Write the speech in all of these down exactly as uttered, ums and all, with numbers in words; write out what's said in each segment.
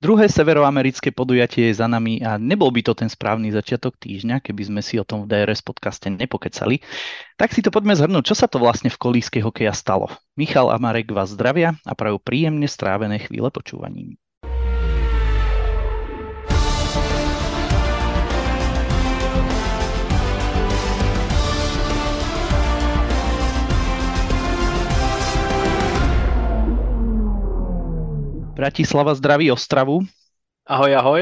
Druhé severoamerické podujatie je za nami a nebol by to ten správny začiatok týždňa, keby sme si o tom v dé er es podcaste nepokecali. Tak si to poďme zhrnúť, čo sa to vlastne v kolíske hokeja stalo. Michal a Marek vás zdravia a prajú príjemne strávené chvíle počúvaním. Bratislava zdraví Ostravu. Ahoj, ahoj.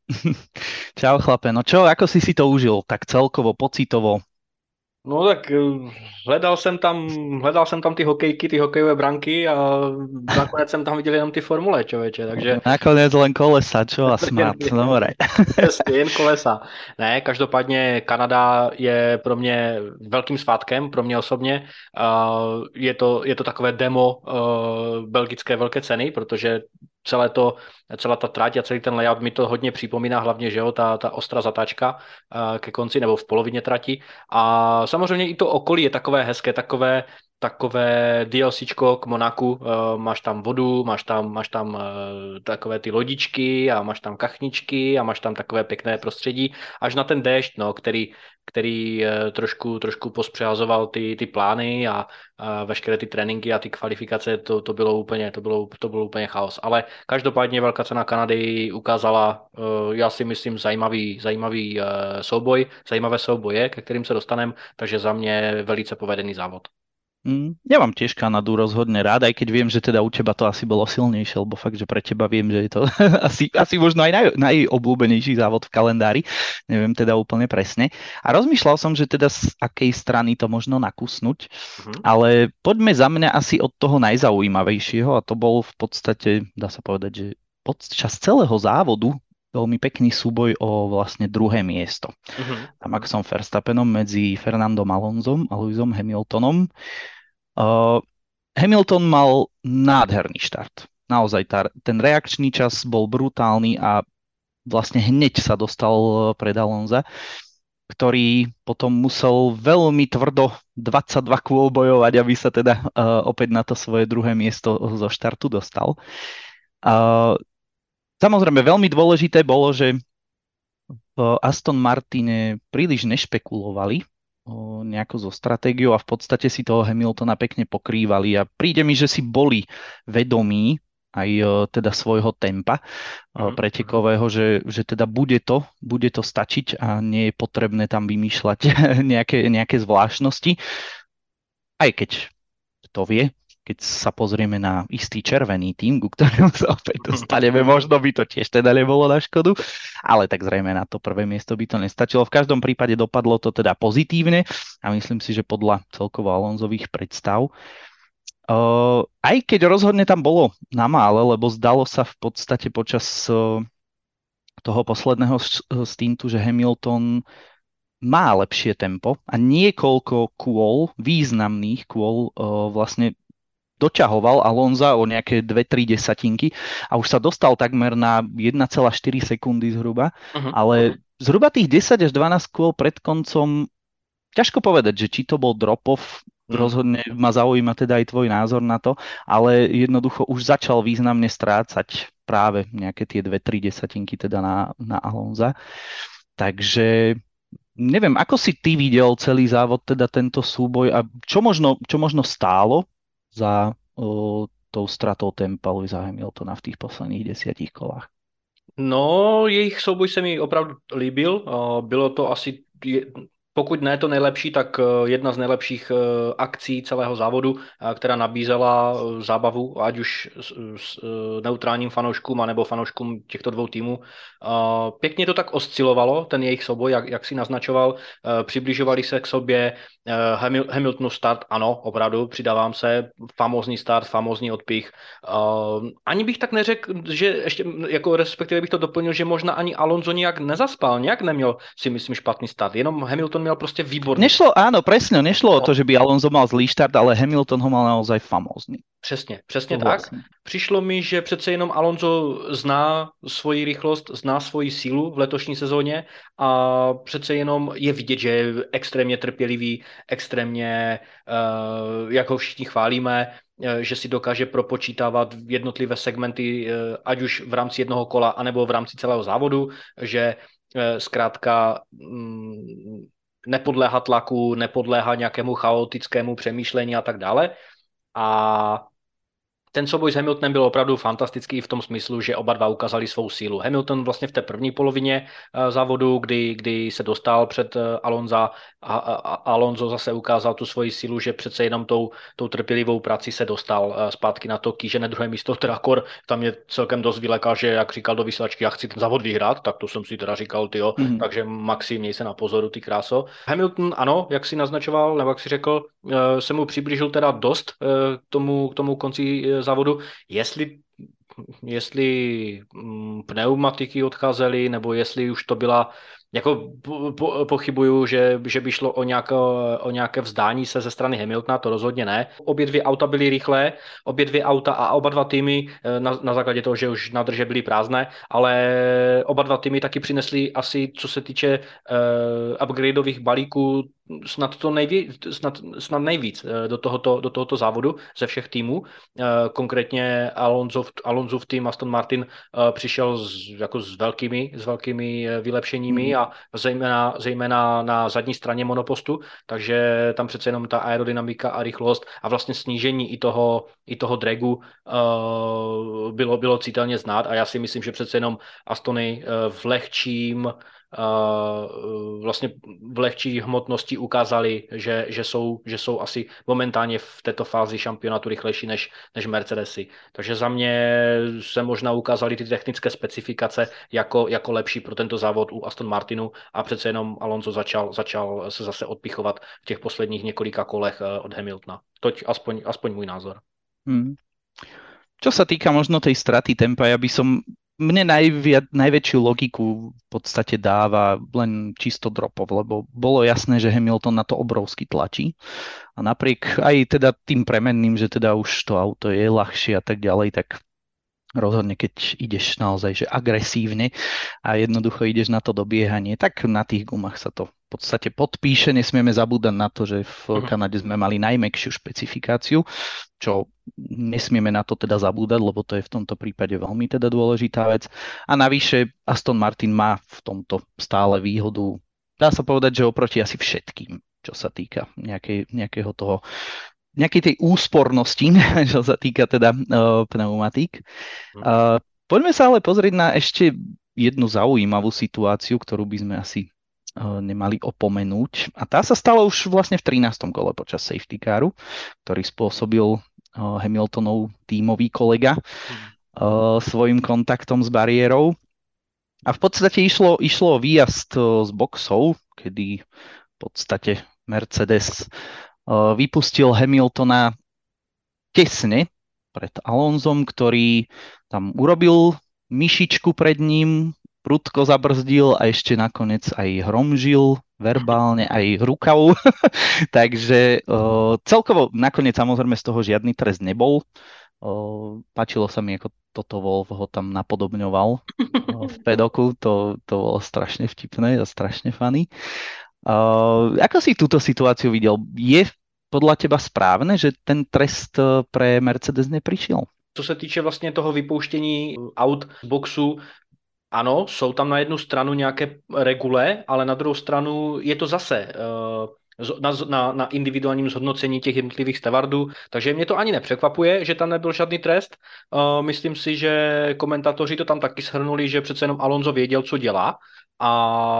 Čau chlape, no čo, ako si si to užil, tak celkovo, pocitovo? No tak eh, hledal jsem tam, hledal jsem tam ty hokejky, ty hokejové branky a nakonec jsem tam viděl jenom ty formule, člověče, takže Nakoniec len kolesa, čo a jen, snad, dobre. přesně, jen kolesa. Ne, každopádně Kanada je pro mě velkým svátkem, pro mě osobně. Uh, je to, je to takové demo uh, belgické velké ceny, protože celé to, celá ta trať a celý ten layout mi to hodně připomíná, hlavně, že jo, ta, ta ostrá zatáčka uh, ke konci nebo v polovině trati. A samozřejmě i to okolí je takové hezké, takové takové DLCčko k Monaku, uh, máš tam vodu, máš tam, máš tam uh, takové ty lodičky a máš tam kachničky a máš tam takové pěkné prostředí, až na ten déšť, no, který, který uh, trošku, trošku pospřehazoval ty, ty plány a uh, veškeré ty tréninky a ty kvalifikace, to, to bylo úplně, to bylo, to bylo úplně chaos. Ale každopádně velká cena Kanady ukázala, uh, já si myslím, zajímavý, zajímavý uh, souboj, zajímavé souboje, ke kterým se dostaneme, takže za mě velice povedený závod. Mm, ja mám tiež Kanadu rozhodne rád, aj keď viem, že teda u teba to asi bolo silnejšie, lebo fakt, že pre teba viem, že je to asi, asi možno aj naj, najobľúbenejší závod v kalendári, neviem teda úplne presne. A rozmýšľal som, že teda z akej strany to možno nakusnúť, Mhm. ale poďme za mňa asi od toho najzaujímavejšieho a to bol v podstate, dá sa povedať, že počas celého závodu veľmi pekný súboj o vlastne druhé miesto. Mhm. Tam ako som Verstappenom medzi Fernandom Alonsom a Lewisom Hamiltonom. Uh, Hamilton mal nádherný štart. Naozaj tá, ten reakčný čas bol brutálny a vlastne hneď sa dostal pred Alonza, ktorý potom musel veľmi tvrdo dvadsaťdva kôl bojovať, aby sa teda uh, opäť na to svoje druhé miesto zo štartu dostal. Uh, samozrejme, veľmi dôležité bolo, že v Aston Martine príliš nešpekulovali o, nejako so stratégiou a v podstate si toho Hamiltona pekne pokrývali a príde mi, že si boli vedomí aj o, teda svojho tempa o, Mhm. pretekového, že, že teda bude to, bude to stačiť a nie je potrebné tam vymýšľať nejaké, nejaké zvláštnosti. Aj keď to vie, keď sa pozrieme na istý červený tým, ku ktorému sa opäť dostaneme, možno by to tiež teda nebolo na škodu, ale tak zrejme na to prvé miesto by to nestačilo. V každom prípade dopadlo to teda pozitívne a myslím si, že podľa celkovo Alonzových predstav. Uh, aj keď rozhodne tam bolo na mále, lebo zdalo sa v podstate počas uh, toho posledného stintu, že Hamilton má lepšie tempo a niekoľko kôl, významných kôl uh, vlastne doťahoval Alonza o nejaké dve tri desatinky a už sa dostal takmer na jeden celá štyri sekundy zhruba, Mhm. ale zhruba tých desať až dvanásť kôl pred koncom, ťažko povedať, že či to bol drop-off, Mhm. rozhodne ma zaujíma teda aj tvoj názor na to, ale jednoducho už začal významne strácať práve nejaké tie dve tri desatinky teda na, na Alonza. Takže neviem, ako si ty videl celý závod, teda tento súboj a čo možno, čo možno stálo za o, tou stratou tempa Lewisa Hamiltona v těch posledních desítich kolách? No, jejich souboj se mi opravdu líbil. Uh, Bylo to asi, je- pokud ne to nejlepší, tak uh, jedna z nejlepších uh, akcí celého závodu, uh, která nabízela uh, zábavu, ať už s, s uh, neutrálním fanouškům, anebo fanouškům těchto dvou týmů. Uh, Pěkně to tak oscilovalo, ten jejich souboj, jak, jak si naznačoval. Uh, Přibližovali se k sobě. Uh, Hamil- Hamiltonův start, ano, opravdu, přidávám se, famózní start, famózní odpich. Uh, ani bych tak neřekl, že ještě, jako respektive bych to doplnil, že možná ani Alonso nějak nezaspal, nějak neměl, si myslím, špatný start, jenom Hamilton měl prostě výborný. Nešlo, áno, presne, nešlo o No. to, že by Alonso mal zlý štart, ale Hamilton ho mal naozaj famózny. Přesně, přesně To tak. vlastně. Přišlo mi, že přece jenom Alonso zná svoji rychlost, zná svoji sílu v letošní sezóně a přece jenom je vidět, že je extrémně trpělivý, extrémně, uh, jak ho všichni chválíme, uh, že si dokáže propočítávat jednotlivé segmenty, uh, ať už v rámci jednoho kola, anebo v rámci celého závodu, že uh, zkrátka um, nepodléhá tlaku, nepodléhá nějakému chaotickému přemýšlení a tak dále. A ten souboj s Hamiltonem byl opravdu fantastický v tom smyslu, že oba dva ukázali svou sílu. Hamilton vlastně v té první polovině závodu, kdy, kdy se dostal před Alonza a, a, a Alonso zase ukázal tu svoji sílu, že přece jenom tou, tou trpělivou prací se dostal zpátky na to kýžené druhé místo, teda kor, tam mě celkem dost vylekal, že jak říkal do vysílačky, já chci ten závod vyhrát, tak to jsem si teda říkal, tyjo, mm-hmm. takže Maxi, měj se na pozoru, ty kráso. Hamilton, ano, jak si naznačoval, nebo jak si řekl, se mu přiblížil teda dost k tomu, k tomu konci závodu, jestli, jestli pneumatiky odcházely, nebo jestli už to byla, jako po, po, pochybuju, že, že by šlo o nějaké, o nějaké vzdání se ze strany Hamiltona, to rozhodně ne. Obě dvě auta byly rychlé, obě dvě auta a oba dva týmy, na, na základě toho, že už nádrže byly prázdné, ale oba dva týmy taky přinesly asi, co se týče uh, upgradeových balíků, snad to nejvíc, snad, snad nejvíc do tohoto, do tohoto závodu ze všech týmů. Konkrétně Alonso, Alonso v tým Aston Martin přišel s, jako s velkými, s velkými vylepšeními a zejména, zejména na zadní straně monopostu, takže tam přece jenom ta aerodynamika a rychlost a vlastně snížení i toho, i toho dragu bylo, bylo citelně znát a já si myslím, že přece jenom Astony v lehčím Uh, vlastně v lehčí hmotnosti ukázali, že, že, jsou, že jsou asi momentálně v této fázi šampionátu rychlejší než, než Mercedesy. Takže za mě se možná ukázaly ty technické specifikace jako, jako lepší pro tento závod u Aston Martinu a přece jenom Alonso začal, začal se zase odpichovat v těch posledních několika kolech od Hamiltona. Toť aspoň, aspoň můj názor. Hmm. Čo sa týka možno tej straty tempa, ja by som mne najviac, najväčšiu logiku v podstate dáva len čisto dropov, lebo bolo jasné, že Hamilton na to obrovsky tlačí a napriek aj teda tým premenným, že teda už to auto je ľahšie a tak ďalej, tak rozhodne, keď ideš naozaj že agresívne a jednoducho ideš na to dobiehanie, tak na tých gumách sa to v podstate podpíše. Nesmieme zabúdať na to, že v Kanade sme mali najmäkšiu špecifikáciu, čo nesmieme na to teda zabúdať, lebo to je v tomto prípade veľmi teda dôležitá vec. A navyše Aston Martin má v tomto stále výhodu, dá sa povedať, že oproti asi všetkým, čo sa týka nejakej, nejakého toho nejakej tej úspornosti, čo sa týka teda uh, pneumatík. Uh, poďme sa ale pozrieť na ešte jednu zaujímavú situáciu, ktorú by sme asi uh, nemali opomenúť. A tá sa stala už vlastne v trinástom kole počas safety caru, ktorý spôsobil uh, Hamiltonov tímový kolega uh, svojim kontaktom s bariérou. A v podstate išlo, išlo o výjazd uh, z boxov, kedy v podstate Mercedes vypustil Hamiltona tesne pred Alonsom, ktorý tam urobil myšičku pred ním, prudko zabrzdil a ešte nakoniec aj hromžil verbálne, aj rukou. Takže uh, celkovo nakoniec samozrejme z toho žiadny trest nebol. Uh, páčilo sa mi, ako Toto Wolff ho tam napodobňoval uh, v pedoku. To, to bolo strašne vtipné a strašne funny. Uh, ako si túto situáciu videl? Je podľa teba správne, že ten trest pre Mercedes neprišiel? Co se týče vlastně toho vypouštění aut z boxu, ano, jsou tam na jednu stranu nějaké regule, ale na druhou stranu je to zase uh, na, na, na individuálním zhodnocení těch jednotlivých stevardů, takže mě to ani nepřekvapuje, že tam nebyl žádný trest. Uh, myslím si, že komentátoři to tam taky shrnuli, že přece jenom Alonso věděl, co dělá. A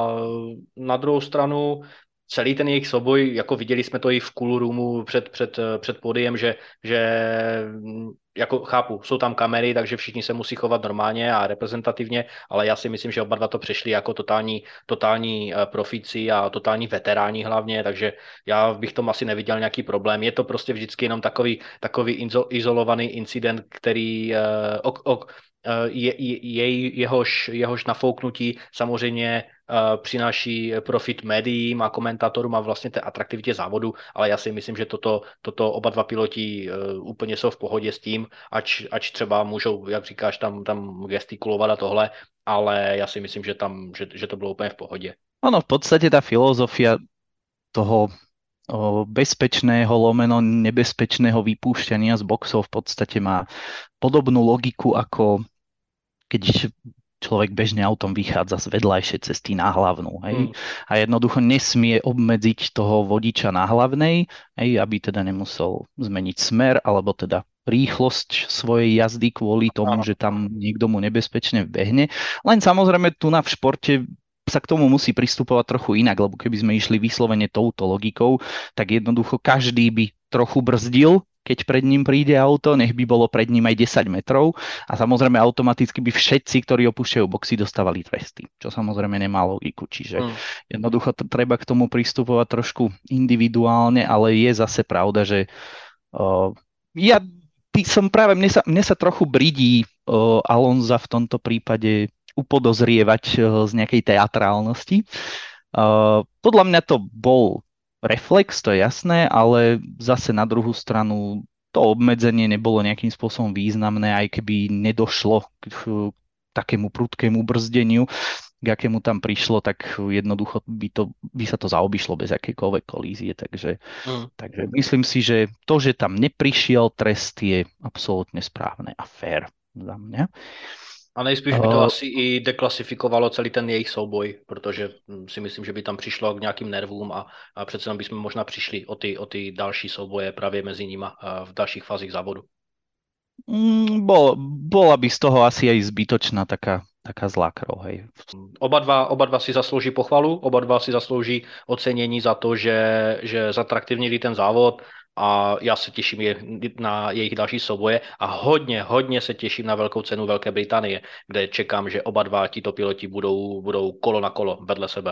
na druhou stranu celý ten jejich souboj, jako viděli jsme to i v cool roomu před, před, před pódiem, že, že jako chápu, jsou tam kamery, takže všichni se musí chovat normálně a reprezentativně, ale já si myslím, že oba dva to přešli jako totální, totální profíci a totální veteráni hlavně, takže já bych tom asi neviděl nějaký problém. Je to prostě vždycky jenom takový, takový izolovaný incident, který, o, o, je, jej, jehož, jehož nafouknutí samozřejmě přináší profit médiím a komentátorům a vlastně té atraktivitě závodu, ale já si myslím, že toto, toto oba dva piloti úplně jsou v pohodě s tím, ač, ač třeba můžou, jak říkáš, tam, tam gestikulovat a tohle, ale já si myslím, že, tam, že, že to bylo úplně v pohodě. Ono v podstate tá filozofia toho o, bezpečného lomeno nebezpečného vypúšťania z boxov v podstate má podobnú logiku, ako keď človek bežne autom vychádza z vedľajšej cesty na hlavnú. Hej? Hmm. A jednoducho nesmie obmedziť toho vodiča na hlavnej, hej, aby teda nemusel zmeniť smer, alebo teda rýchlosť svojej jazdy kvôli tomu, že tam niekto mu nebezpečne behne. Len samozrejme tu na v športe sa k tomu musí pristupovať trochu inak, lebo keby sme išli vyslovene touto logikou, tak jednoducho každý by trochu brzdil, keď pred ním príde auto, nech by bolo pred ním aj desať metrov a samozrejme automaticky by všetci, ktorí opúšťajú boxy, dostávali tresty, čo samozrejme nemá logiku. Čiže hmm. jednoducho t- treba k tomu pristupovať trošku individuálne, ale je zase pravda, že uh, ja by som práve, mne sa, mne sa trochu bridí uh, Alonza v tomto prípade upodozrievať z nejakej teatrálnosti. Uh, podľa mňa to bol reflex, to je jasné, ale zase na druhú stranu to obmedzenie nebolo nejakým spôsobom významné, aj keby nedošlo k takému prudkému brzdeniu, k akému tam prišlo, tak jednoducho by, to, by sa to zaobišlo bez akékoľvek kolízie. Takže, mm. takže myslím si, že to, že tam neprišiel trest, je absolútne správne a fair za mňa. A nejspíš by to uh, asi i deklasifikovalo celý ten jejich souboj, protože si myslím, že by tam přišlo k nějakým nervům a, a přece bychom možná přišli o ty, o ty další souboje právě mezi nima v dalších fázích závodu. Mm, bol, bola by z toho asi aj zbytočná taká, taká zlá krv, hej. Oba dva, oba dva si zaslouží pochvalu, oba dva si zaslouží ocenění za to, že, že zatraktivnili ten závod, a já se těším na jejich další souboje a hodně, hodně se těším na velkou cenu Velké Británie, kde čekám, že oba dva títo piloti budou, budou kolo na kolo vedle sebe.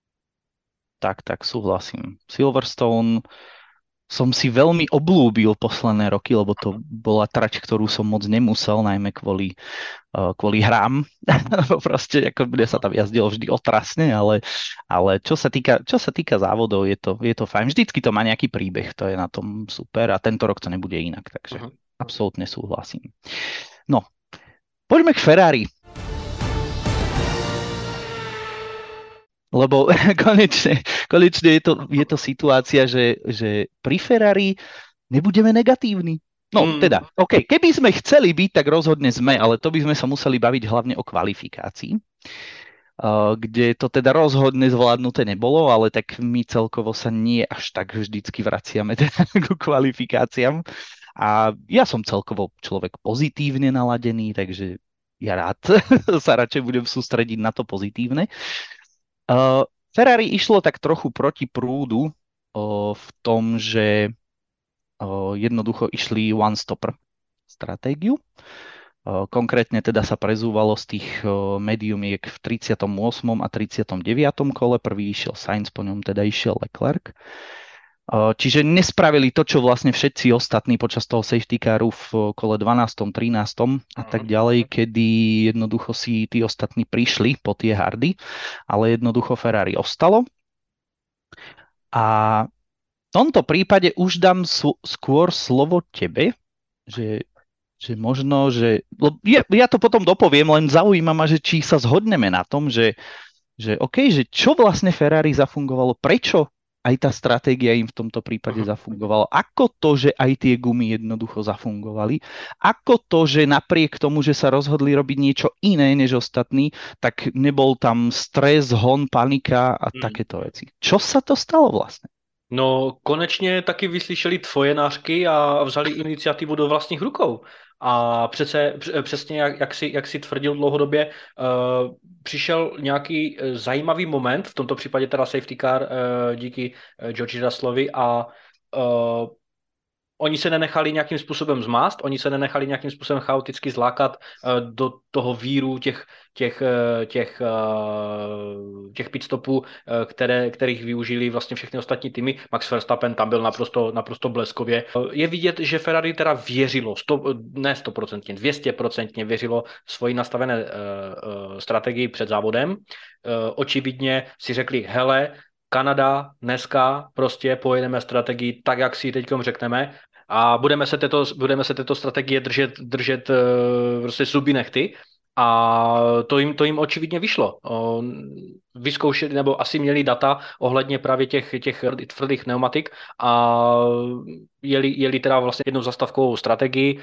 Tak, tak, súhlasím. Silverstone som si veľmi oblúbil posledné roky, lebo to bola trať, ktorú som moc nemusel, najmä kvôli, uh, kvôli hrám. Proste, ako mne sa tam jazdilo vždy otrasne, ale, ale čo, sa týka, čo sa týka závodov, je to, je to fajn. Vždycky to má nejaký príbeh, to je na tom super a tento rok to nebude inak, takže uh-huh. absolútne súhlasím. No, poďme k Ferrari. Lebo konečne, konečne je to, je to situácia, že, že pri Ferrari nebudeme negatívni. No mm. teda, OK, keby sme chceli byť, tak rozhodne sme, ale to by sme sa museli baviť hlavne o kvalifikácii, uh, kde to teda rozhodne zvládnuté nebolo, ale tak my celkovo sa nie až tak vždycky vraciame teda k kvalifikáciám. A ja som celkovo človek pozitívne naladený, takže ja rád sa radšej budem sústrediť na to pozitívne. Uh, Ferrari išlo tak trochu proti prúdu uh, v tom, že uh, jednoducho išli one-stopper stratégiu. Uh, konkrétne teda sa prezúvalo z tých uh, mediumiek v tridsiatom ôsmom a tridsiatom deviatom kole. Prvý išiel Sainz, po ňom teda išiel Leclerc. Uh, čiže nespravili to, čo vlastne všetci ostatní počas toho safety caru v kole dvanástom, trinástom a tak ďalej, kedy jednoducho si tí ostatní prišli po tie hardy, ale jednoducho Ferrari ostalo. A v tomto prípade už dám sl- skôr slovo tebe, že, že možno, že... Ja, ja to potom dopoviem, len zaujíma ma, že či sa zhodneme na tom, že, že OK, že čo vlastne Ferrari zafungovalo, prečo aj tá stratégia im v tomto prípade zafungovala. Ako to, že aj tie gumy jednoducho zafungovali? Ako to, že napriek tomu, že sa rozhodli robiť niečo iné než ostatní, tak nebol tam stres, hon, panika a hmm. takéto veci. Čo sa to stalo vlastne? No, konečně taky vyslyšeli tvoje nářky a vzali iniciativu do vlastních rukou. A přece, přesně jak, jak, si, jak si tvrdil dlouhodobě, uh, přišel nějaký zajímavý moment, v tomto případě teda safety car uh, díky uh, George Russellovi a uh, oni se nenechali nějakým způsobem zmást, oni se nenechali nějakým způsobem chaoticky zlákat eh, do toho víru těch, těch, eh, těch, eh, těch pitstopů, eh, které, kterých využili vlastně všechny ostatní týmy. Max Verstappen tam byl naprosto, naprosto bleskově. Je vidět, že Ferrari teda věřilo, sto, ne stoprocentně, dvě stě procent věřilo svoji nastavené uh, uh, strategii před závodem. Uh, očividně si řekli, hele, Kanada dneska prostě pojedeme strategii tak, jak si ji teď řekneme a budeme se této, budeme se této strategie držet, držet uh, prostě zuby nechty. A to jim, to jim očividně vyšlo. Vyzkoušeli, nebo asi měli data ohledně právě těch, těch tvrdých pneumatik a jeli, jeli teda vlastně jednou zastavkovou strategii,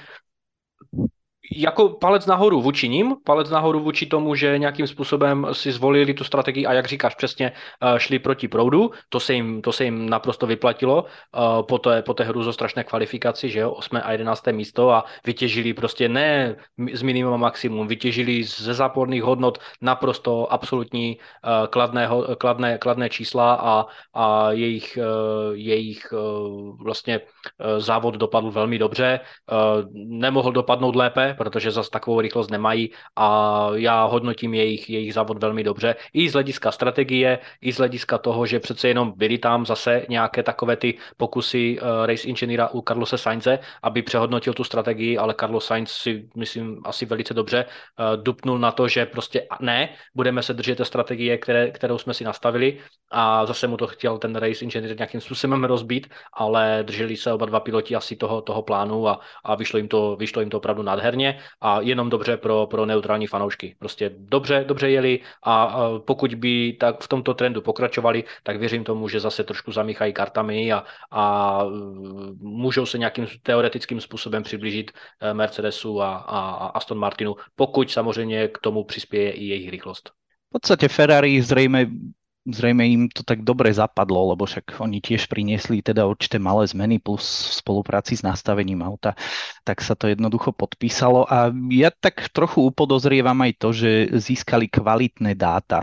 jako palec nahoru vůči ním, palec nahoru vůči tomu, že nějakým způsobem si zvolili tu strategii a jak říkáš přesně, šli proti proudu, to se jim, to se jim naprosto vyplatilo po té, po té hruzostrašné kvalifikaci, že jo, osmé a jedenácté místo a vytěžili prostě ne z minimum maximum, vytěžili ze záporných hodnot naprosto absolutní kladného, kladné, kladné čísla a, a jejich, jejich vlastně závod dopadl velmi dobře, nemohl dopadnout lépe, protože zase takovou rychlost nemají a já hodnotím jejich, jejich závod velmi dobře. I z hlediska strategie, i z hlediska toho, že přece jenom byly tam zase nějaké takové ty pokusy uh, race inženýra u Carlose Sainze, aby přehodnotil tu strategii, ale Carlos Sainz si, myslím, asi velice dobře uh, dupnul na to, že prostě ne, budeme se držet té strategie, které, kterou jsme si nastavili a zase mu to chtěl ten race inženýr nějakým způsobem rozbít, ale drželi se oba dva piloti asi toho, toho plánu a, a vyšlo jim to, vyšlo jim to opravdu nádherně a jenom dobře pro, pro neutrální fanoušky. Prostě dobře, dobře jeli a, a pokud by tak v tomto trendu pokračovali, tak věřím tomu, že zase trošku zamíchají kartami a, a můžou se nějakým teoretickým způsobem přiblížit Mercedesu a, a, a Aston Martinu, pokud samozřejmě k tomu přispěje i jejich rychlost. V podstate Ferrari zrejme Zrejme im to tak dobre zapadlo, lebo však oni tiež priniesli teda určité malé zmeny plus v spolupráci s nastavením auta, tak sa to jednoducho podpísalo a ja tak trochu upodozrievam aj to, že získali kvalitné dáta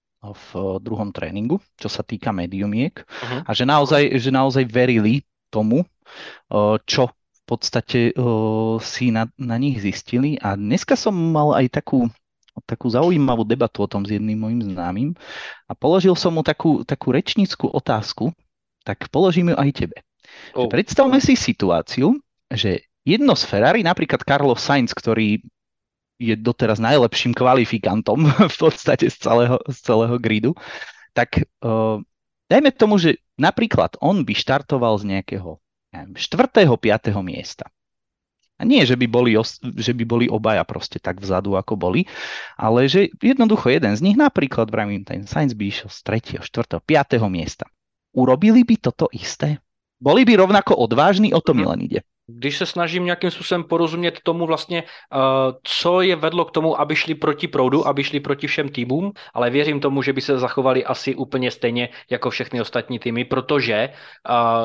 v druhom tréningu, čo sa týka mediumiek uh-huh. a že naozaj, že naozaj verili tomu, čo v podstate si na, na nich zistili a dneska som mal aj takú takú zaujímavú debatu o tom s jedným mojím známym a položil som mu takú, takú rečnícku otázku, tak položím ju aj tebe. Oh. Predstavme si situáciu, že jedno z Ferrari, napríklad Carlos Sainz, ktorý je doteraz najlepším kvalifikantom v podstate z celého, z celého gridu, tak uh, dajme tomu, že napríklad on by štartoval z nejakého neviem, štvrtého piateho miesta. A nie, že by, boli, že by boli obaja proste tak vzadu, ako boli, ale že jednoducho jeden z nich, napríklad vravím, ten Sainz by išiel z tretieho, štvrtého, piateho miesta. Urobili by toto isté? Boli by rovnako odvážni? O to mi len ide. Když se snažím nějakým způsobem porozumět tomu vlastně, uh, co je vedlo k tomu, aby šli proti proudu, aby šli proti všem týmům, ale věřím tomu, že by se zachovali asi úplně stejně jako všechny ostatní týmy, protože uh,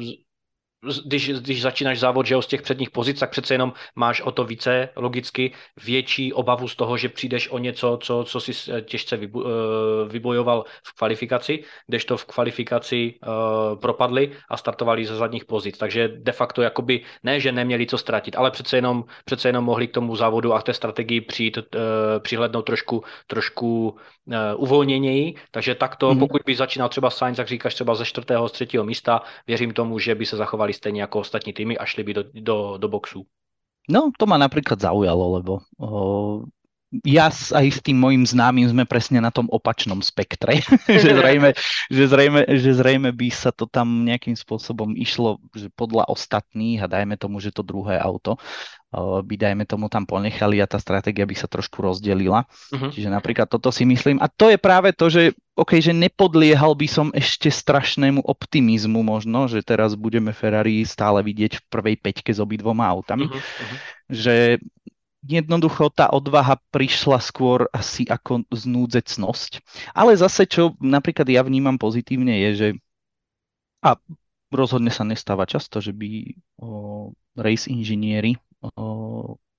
Když, když začínáš závod, že jo, z těch předních pozic, tak přece jenom máš o to více logicky větší obavu z toho, že přijdeš o něco, co, co si těžce vybojoval v kvalifikaci, kdežto v kvalifikaci uh, propadli a startovali ze zadních pozic. Takže de facto jakoby ne, že neměli co ztratit, ale přece jenom, přece jenom mohli k tomu závodu a k té strategii přijít, uh, přihlednout trošku, trošku uh, uvolněněji. Takže takto, mm-hmm. pokud by začínal třeba Sainz, jak říkáš, třeba ze čtvrtého, z třetího místa, věřím tomu, že by se zachovali stejně jako ostatní týmy a šli by do, do, do boxu. No, to ma napríklad zaujalo, lebo o, ja aj s tým mojím známym sme presne na tom opačnom spektre, že, zrejme, že, zrejme, že zrejme by sa to tam nejakým spôsobom išlo že podľa ostatných a dajme tomu, že to druhé auto by dajme tomu tam ponechali a tá stratégia by sa trošku rozdelila. Uh-huh. Čiže napríklad toto si myslím. A to je práve to, že OK, že nepodliehal by som ešte strašnému optimizmu možno, že teraz budeme Ferrari stále vidieť v prvej peťke s obidvoma autami. Uh-huh. Že jednoducho tá odvaha prišla skôr asi ako znúdzecnosť. Ale zase, čo napríklad ja vnímam pozitívne je, že a rozhodne sa nestáva často, že by o, race inžinieri o,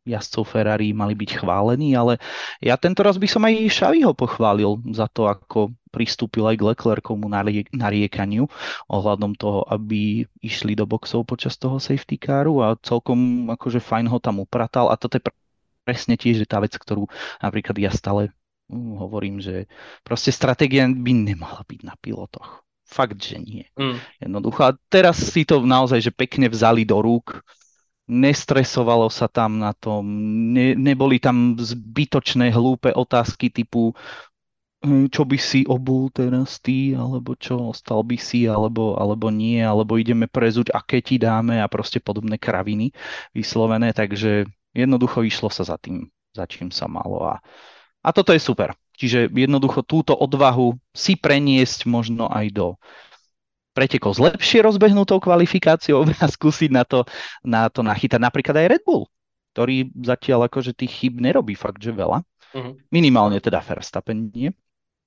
jazdcov Ferrari mali byť chválení, ale ja tento raz by som aj Xaviho pochválil za to, ako pristúpil aj k Leclercovmu narie- nariekaniu ohľadom toho, aby išli do boxov počas toho safety caru a celkom akože fajn ho tam upratal a toto je pre- presne tiež tá vec, ktorú napríklad ja stále mm, hovorím, že proste stratégia by nemala byť na pilotoch. Fakt, že nie. Mm. Jednoducho. A teraz si to naozaj, že pekne vzali do rúk, nestresovalo sa tam na tom, ne, neboli tam zbytočné hlúpe otázky typu "Hm, čo by si obul teraz ty, alebo čo, ostal by si, alebo, alebo nie, alebo ideme prezuť, aké ti dáme a proste podobné kraviny vyslovené, takže jednoducho išlo sa za tým, za čím sa malo a, a toto je super. Čiže jednoducho túto odvahu si preniesť možno aj do pretekov s lepšie rozbehnutou kvalifikáciou a skúsiť na to, na to nachytať napríklad aj Red Bull, ktorý zatiaľ akože tých chyb nerobí fakt, že veľa. Mm. Minimálne teda Verstappen nie.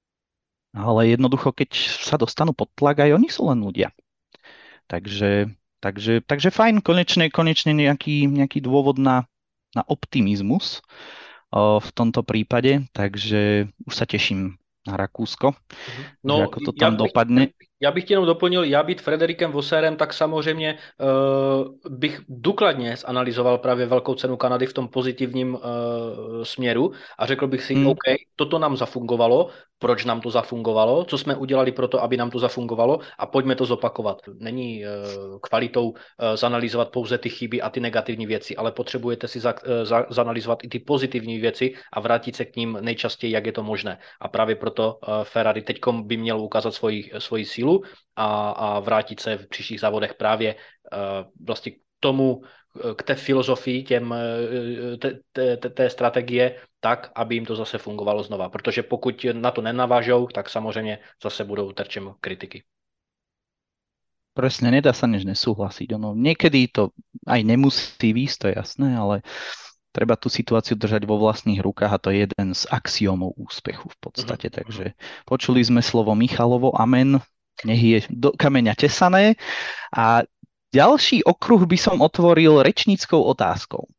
Ale jednoducho, keď sa dostanú pod tlak, aj oni sú len ľudia. Takže, takže, takže fajn, konečne, konečne nejaký, nejaký dôvod na, na optimizmus o, v tomto prípade, takže už sa teším na Rakúsko, že No, ako to já tam bych, dopadne. já bych ti jenom doplnil, já být Frederikem Vossérem, tak samozřejmě uh, bych důkladně zanalizoval právě velkou cenu Kanady v tom pozitivním uh, směru a řekl bych si, Mm, OK, toto nám zafungovalo, proč nám to zafungovalo, co jsme udělali pro to, aby nám to zafungovalo a pojďme to zopakovat. Není uh, kvalitou uh, zanalizovat pouze ty chyby a ty negativní věci, ale potřebujete si za, uh, za, zanalizovat i ty pozitivní věci a vrátit se k ním nejčastěji, jak je to možné. A právě proto uh, Ferrari teďkom by měl ukázat svoji, svoji sílu a, a vrátit se v příštích závodech právě uh, vlastně k tomu, k té filozofii, těm, té, té, té strategie, tak, aby jim to zase fungovalo znova. Protože pokud na to nenavážou, tak samozřejmě zase budou terčem kritiky. presne, nedá sa než nesúhlasiť. Ono, niekedy to aj nemusí výjsť, to je jasné, ale treba tú situáciu držať vo vlastných rukách a to je jeden z axiómov úspechu v podstate. Mm-hmm. Takže počuli sme slovo Michalovo, amen, nech je do kameňa tesané. A ďalší okruh by som otvoril rečníckou otázkou.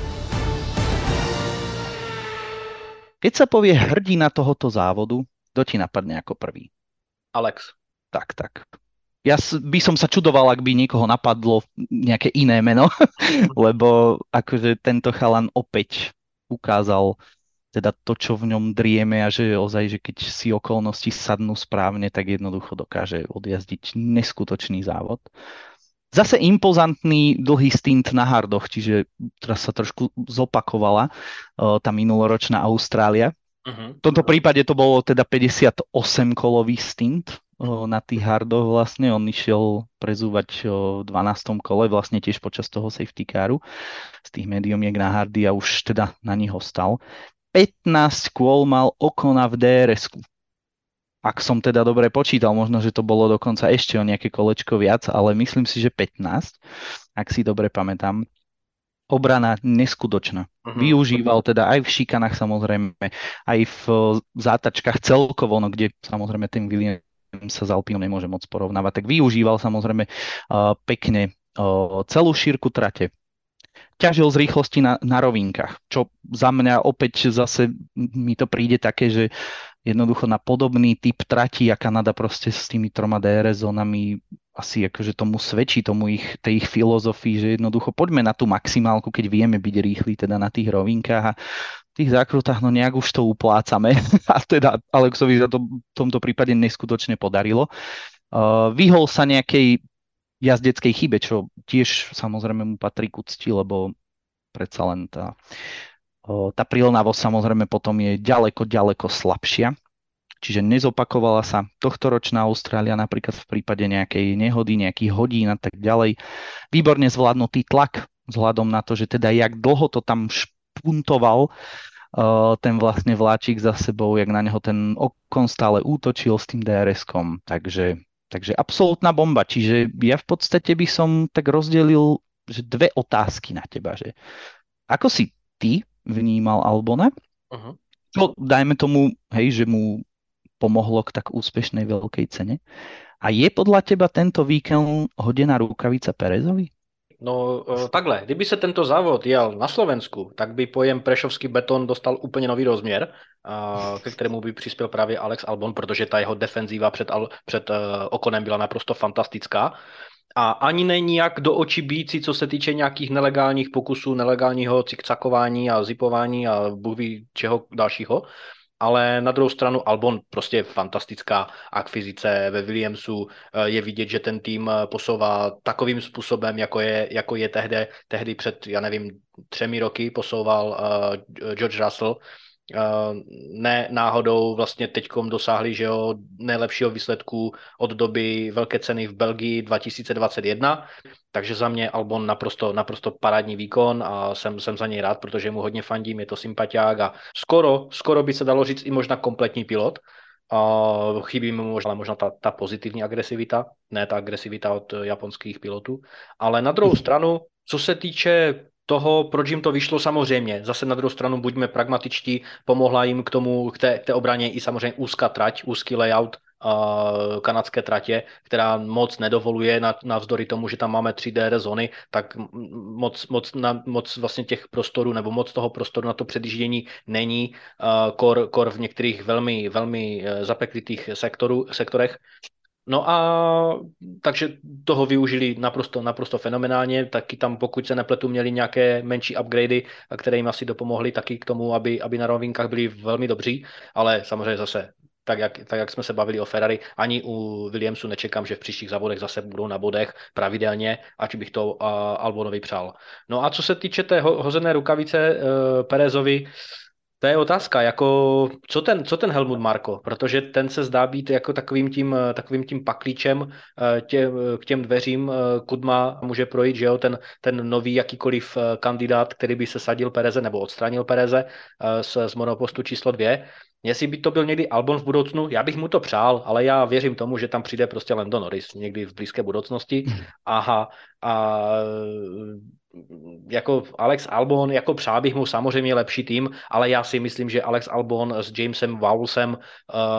Keď sa povie hrdina tohoto závodu, kto ti napadne ako prvý? Alex. Tak, tak. Ja by som sa čudoval, ak by niekoho napadlo nejaké iné meno, lebo akože tento chalan opäť ukázal teda to, čo v ňom drieme a že ozaj, že keď si okolnosti sadnú správne, tak jednoducho dokáže odjazdiť neskutočný závod. Zase impozantný dlhý stint na hardoch, čiže teraz sa trošku zopakovala uh, tá minuloročná Austrália. Uh-huh. V tomto prípade to bolo teda päťdesiatosemkolový stint uh, na tých hardoch vlastne. On išiel prezúvať uh, v dvanástom kole, vlastne tiež počas toho safety caru z tých mediumiek na hardy a už teda na nich ostal. pätnásť kôl mal Okona v dé er esku. Ak som teda dobre počítal, možno, že to bolo dokonca ešte o nejaké kolečko viac, ale myslím si, že pätnásť, ak si dobre pamätám. Obrana neskutočná. Uh-huh. Využíval teda aj v šikanách samozrejme, aj v zátačkách celkovo, no kde samozrejme ten Williams sa z Alpinou nemôže moc porovnávať, tak využíval samozrejme uh, pekne uh, celú šírku trate. Ťažil z rýchlosti na, na rovinkách, čo za mňa opäť zase mi to príde také, že jednoducho na podobný typ trati a Kanada proste s tými troma dé er zónami asi akože tomu svedčí, tomu ich, tej ich filozofii, že jednoducho poďme na tú maximálku, keď vieme byť rýchli teda na tých rovinkách a v tých zákrutách no nejak už to uplácame a teda Alexovi za to v tomto prípade neskutočne podarilo. Uh, vyhol sa nejakej jazdeckej chybe, čo tiež samozrejme mu patrí k úcti, lebo predsa len tá tá prilnavosť samozrejme potom je ďaleko, ďaleko slabšia. Čiže nezopakovala sa tohtoročná Austrália napríklad v prípade nejakej nehody, nejakých hodín a tak ďalej. Výborne zvládnutý tlak vzhľadom na to, že teda jak dlho to tam špuntoval uh, ten vlastne vláčik za sebou, jak na neho ten Okon stále útočil s tým dé er eskom. Takže, takže absolútna bomba. Čiže ja v podstate by som tak rozdelil že dve otázky na teba. Že ako si ty vnímal Albona. Uh-huh. No, dajme tomu, hej, že mu pomohlo k tak úspešnej veľkej cene. A je podľa teba tento víkend hodená rukavica Perezovi? No eh, takhle, kdyby se tento závod jel na Slovensku, tak by pojem prešovský beton dostal úplně nový rozměr, a ke kterému by přispěl právě Alex Albon, protože ta jeho defenzíva před, Al- před eh, Okonem byla naprosto fantastická. A ani není jak do očí bící, co se týče nějakých nelegálních pokusů, nelegálního cikcakování a zipování a bůh ví čeho dalšího. Ale na druhou stranu Albon prostě fantastická akvizice ve Williamsu. Eh, Je vidět, že ten tým eh, posouvá takovým způsobem, jako je, jako je tehdy, tehdy před, já nevím, třemi roky posouval uh, George Russell. Uh, ne náhodou vlastně teďkom dosáhli, že jo, nejlepšího výsledku od doby velké ceny v Belgii dva tisíce dvacet jedna, takže za mě Albon naprosto, naprosto parádní výkon a jsem, jsem za něj rád, protože mu hodně fandím, je to sympatiák a skoro, skoro by se dalo říct i možná kompletní pilot. Uh, chybí mu možná, možná ta, ta pozitivní agresivita, ne ta agresivita od japonských pilotů, ale na druhou stranu, co se týče toho, proč jim to vyšlo, samozřejmě. Zase na druhou stranu buďme pragmatičtí, pomohla jim k tomu, k té, k té obraně i samozřejmě úzká trať, úzký layout uh, kanadské tratě, která moc nedovoluje na, navzdory tomu, že tam máme tři D R zóny, tak moc, moc, na, moc vlastně těch prostorů nebo moc toho prostoru na to předjíždění není, uh, kor, kor v některých velmi, velmi zapeklitých sektorů, sektorech. No a takže toho využili naprosto, naprosto fenomenálně, taky tam, pokud se nepletu, měli nějaké menší upgradey, které jim asi dopomohly taky k tomu, aby, aby na rovinkách byli velmi dobří, ale samozřejmě zase, tak jak, tak jak jsme se bavili o Ferrari, ani u Williamsu nečekám, že v příštích závodech zase budou na bodech pravidelně, ať bych to uh, Albonovi přál. No a co se týče té ho, hozené rukavice uh, Perezovi, to je otázka, jako co ten, co ten Helmut Marko, protože ten se zdá být jako takovým tím, takovým tím paklíčem tě, k těm dveřím Kudma může projít, že jo, ten, ten nový jakýkoliv kandidát, který by se sadil Pereze nebo odstranil Pereze z, z monopostu číslo dvě. Jestli by to byl někdy Albon v budoucnu, já bych mu to přál, ale já věřím tomu, že tam přijde prostě Lando Norris někdy v blízké budoucnosti. Aha, a jako Alex Albon, jako přál bych mu samozřejmě lepší tým, ale já si myslím, že Alex Albon s Jamesem Vowlesem uh,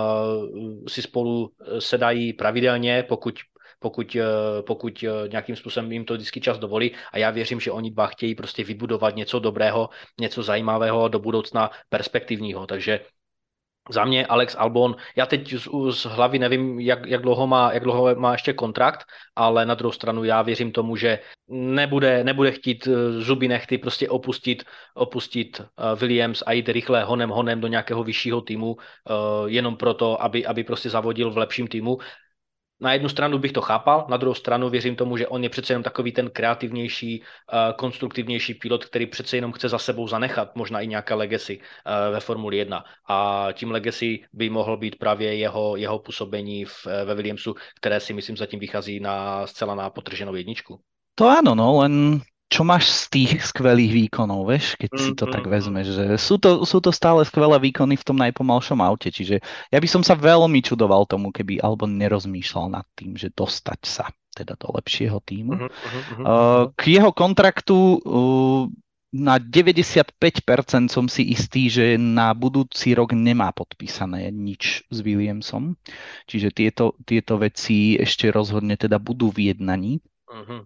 si spolu sedají pravidelně, pokud pokud, pokud nějakým způsobem jim to vždycky čas dovolí a já věřím, že oni dva chtějí prostě vybudovat něco dobrého, něco zajímavého do budoucna perspektivního, takže za mě Alex Albon, já teď z, z hlavy nevím, jak, jak, dlouho má, jak dlouho má ještě kontrakt, ale na druhou stranu já věřím tomu, že nebude, nebude chtít zuby nechty prostě opustit, opustit Williams a jít rychle honem honem do nějakého vyššího týmu, jenom proto, aby, aby prostě zavodil v lepším týmu. Na jednu stranu bych to chápal, na druhou stranu věřím tomu, že on je přece jenom takový ten kreativnější, konstruktivnější pilot, který přece jenom chce za sebou zanechat možná i nějaké legacy ve Formuli jedna. A tím legacy by mohl být právě jeho, jeho působení v, ve Williamsu, které si myslím zatím vychází na zcela na potrženou jedničku. To áno, no, len čo máš z tých skvelých výkonov, vieš, keď si to Mm, tak mm, vezmeš, že sú to, sú to stále skvelé výkony v tom najpomalšom aute, čiže ja by som sa veľmi čudoval tomu, keby Albon nerozmýšľal nad tým, že dostať sa teda do lepšieho týmu. mm, mm, mm, Uh, K jeho kontraktu uh, na deväťdesiatpäť percent som si istý, že na budúci rok nemá podpísané nič s Williamsom, čiže tieto, tieto veci ešte rozhodne teda budú v jednaní. mm.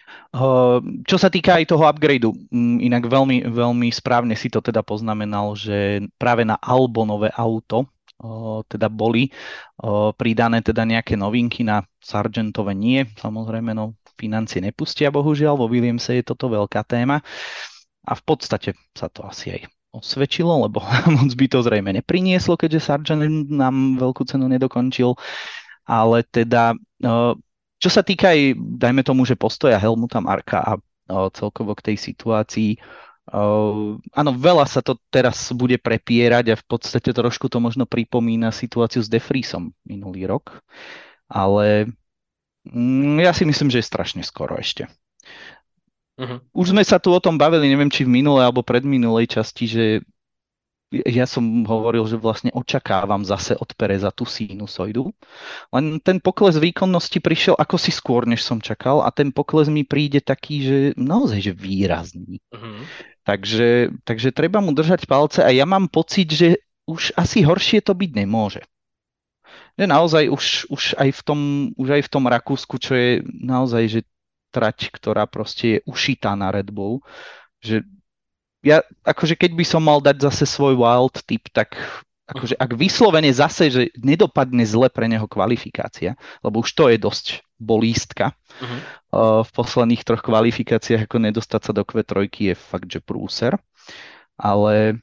Čo sa týka aj toho upgradeu, inak veľmi, veľmi správne si to teda poznamenal, že práve na Albonové auto teda boli pridané teda nejaké novinky, na Sargentove nie, samozrejme, no financie nepustia, bohužiaľ, vo Williamse je toto veľká téma a v podstate sa to asi aj osvedčilo, lebo moc by to zrejme neprinieslo, keďže Sargent nám veľkú cenu nedokončil, ale teda čo sa týka aj, dajme tomu, že postoja Helmuta Marka a o, celkovo k tej situácii, o, áno, veľa sa to teraz bude prepierať a v podstate trošku to možno pripomína situáciu s De Vriesom minulý rok, ale mm, ja si myslím, že je strašne skoro ešte. Uh-huh. Už sme sa tu o tom bavili, neviem, či v minulej alebo predminulej časti, že ja som hovoril, že vlastne očakávam zase od Pereza tú sinusoidu, len ten pokles výkonnosti prišiel ako si skôr, než som čakal a ten pokles mi príde taký, že naozaj, že výrazný. Uh-huh. Takže, takže treba mu držať palce a ja mám pocit, že už asi horšie to byť nemôže. Že naozaj už, už, aj v tom, už aj v tom Rakúsku, čo je naozaj, že trať, ktorá proste je ušitá na Red Bull. Že ja, akože keď by som mal dať zase svoj wild tip, tak akože ak vyslovene zase, že nedopadne zle pre neho kvalifikácia, lebo už to je dosť bolístka. Uh-huh. Uh, v posledných troch kvalifikáciách ako nedostať sa do kvé tri je fakt, že prúser. Ale,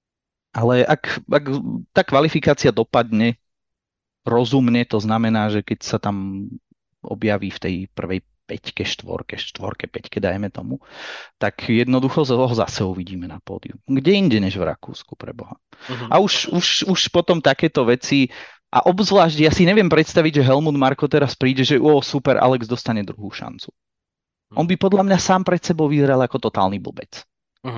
ale ak, ak tá kvalifikácia dopadne rozumne, to znamená, že keď sa tam objaví v tej prvej peťke, štvorke, štvorke, peťke, dajme tomu, tak jednoducho ho zase uvidíme na pódiu. Kde inde než v Rakúsku, pre Boha. Uh-huh. A už, už, už potom takéto veci, a obzvlášť, ja si neviem predstaviť, že Helmut Marko teraz príde, že o, super, Alex dostane druhú šancu. Uh-huh. On by podľa mňa sám pred sebou vyzeral ako totálny blbec. Uh-huh.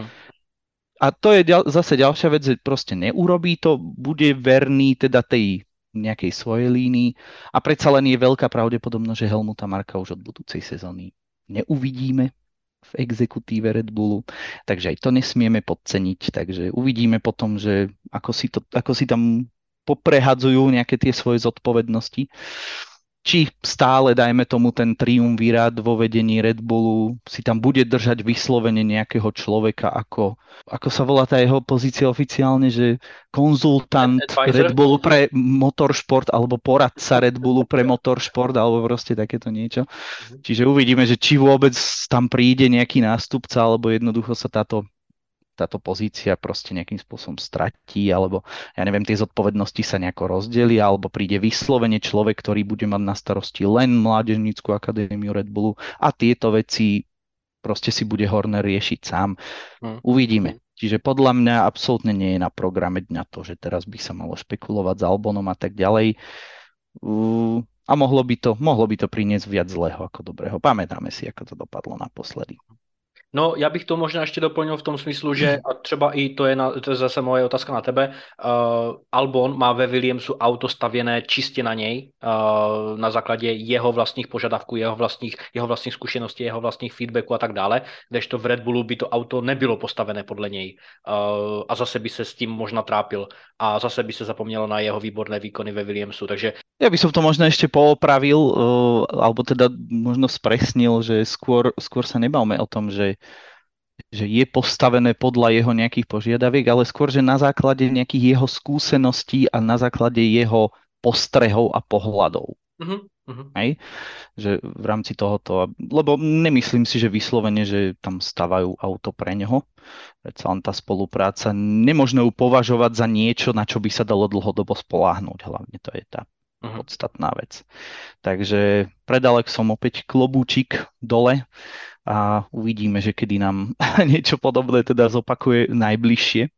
A to je ďal, zase ďalšia vec, že proste neurobí to, bude verný teda tej nejakej svojej línii a predsa len je veľká pravdepodobnosť, že Helmuta Marka už od budúcej sezóny neuvidíme v exekutíve Red Bullu, takže aj to nesmieme podceniť, takže uvidíme potom, že ako si, to, ako si tam poprehadzujú nejaké tie svoje zodpovednosti. Či stále, dajme tomu, ten triumvirát vo vedení Red Bullu si tam bude držať vyslovene nejakého človeka, ako, ako sa volá tá jeho pozícia oficiálne, že konzultant Advisor? Red Bullu pre motoršport alebo poradca Red Bullu pre motoršport alebo proste takéto niečo. Čiže uvidíme, že či vôbec tam príde nejaký nástupca alebo jednoducho sa táto táto pozícia proste nejakým spôsobom stratí, alebo ja neviem, tie zodpovednosti sa nejako rozdelia, alebo príde vyslovene človek, ktorý bude mať na starosti len mládežnícku akadémiu Red Bullu a tieto veci proste si bude Horner riešiť sám. Hmm. Uvidíme. Čiže podľa mňa absolútne nie je na programe dňa to, že teraz by sa malo špekulovať s Albonom a tak ďalej. Uh, a mohlo by to, mohlo by to priniesť viac zlého ako dobrého. Pamätáme si, ako to dopadlo naposledy. No, já bych to možná ještě doplnil v tom smyslu, že a třeba i to je, na, to je zase moje otázka na tebe, uh, Albon má ve Williamsu auto stavěné čistě na něj, uh, na základě jeho vlastních požadavků, jeho vlastních, jeho vlastních zkušeností, jeho vlastních feedbacků a tak dále, kdežto v Red Bullu by to auto nebylo postavené podle něj uh, a zase by se s tím možná trápil a zase by se zapomnělo na jeho výborné výkony ve Williamsu, takže ja by som to možno ešte poopravil, uh, alebo teda možno spresnil, že skôr, skôr sa nebavme o tom, že, že je postavené podľa jeho nejakých požiadaviek, ale skôr, že na základe nejakých jeho skúseností a na základe jeho postrehov a pohľadov. Uh-huh, uh-huh. Hej? Že v rámci tohoto, lebo nemyslím si, že vyslovene, že tam stavajú auto pre neho. Predsa len tá spolupráca, nemožno ju považovať za niečo, na čo by sa dalo dlhodobo spoľahnúť. Hlavne to je tá podstatná vec. Takže pred Alexom opäť klobúčik dole a uvidíme, že kedy nám niečo podobné teda zopakuje najbližšie.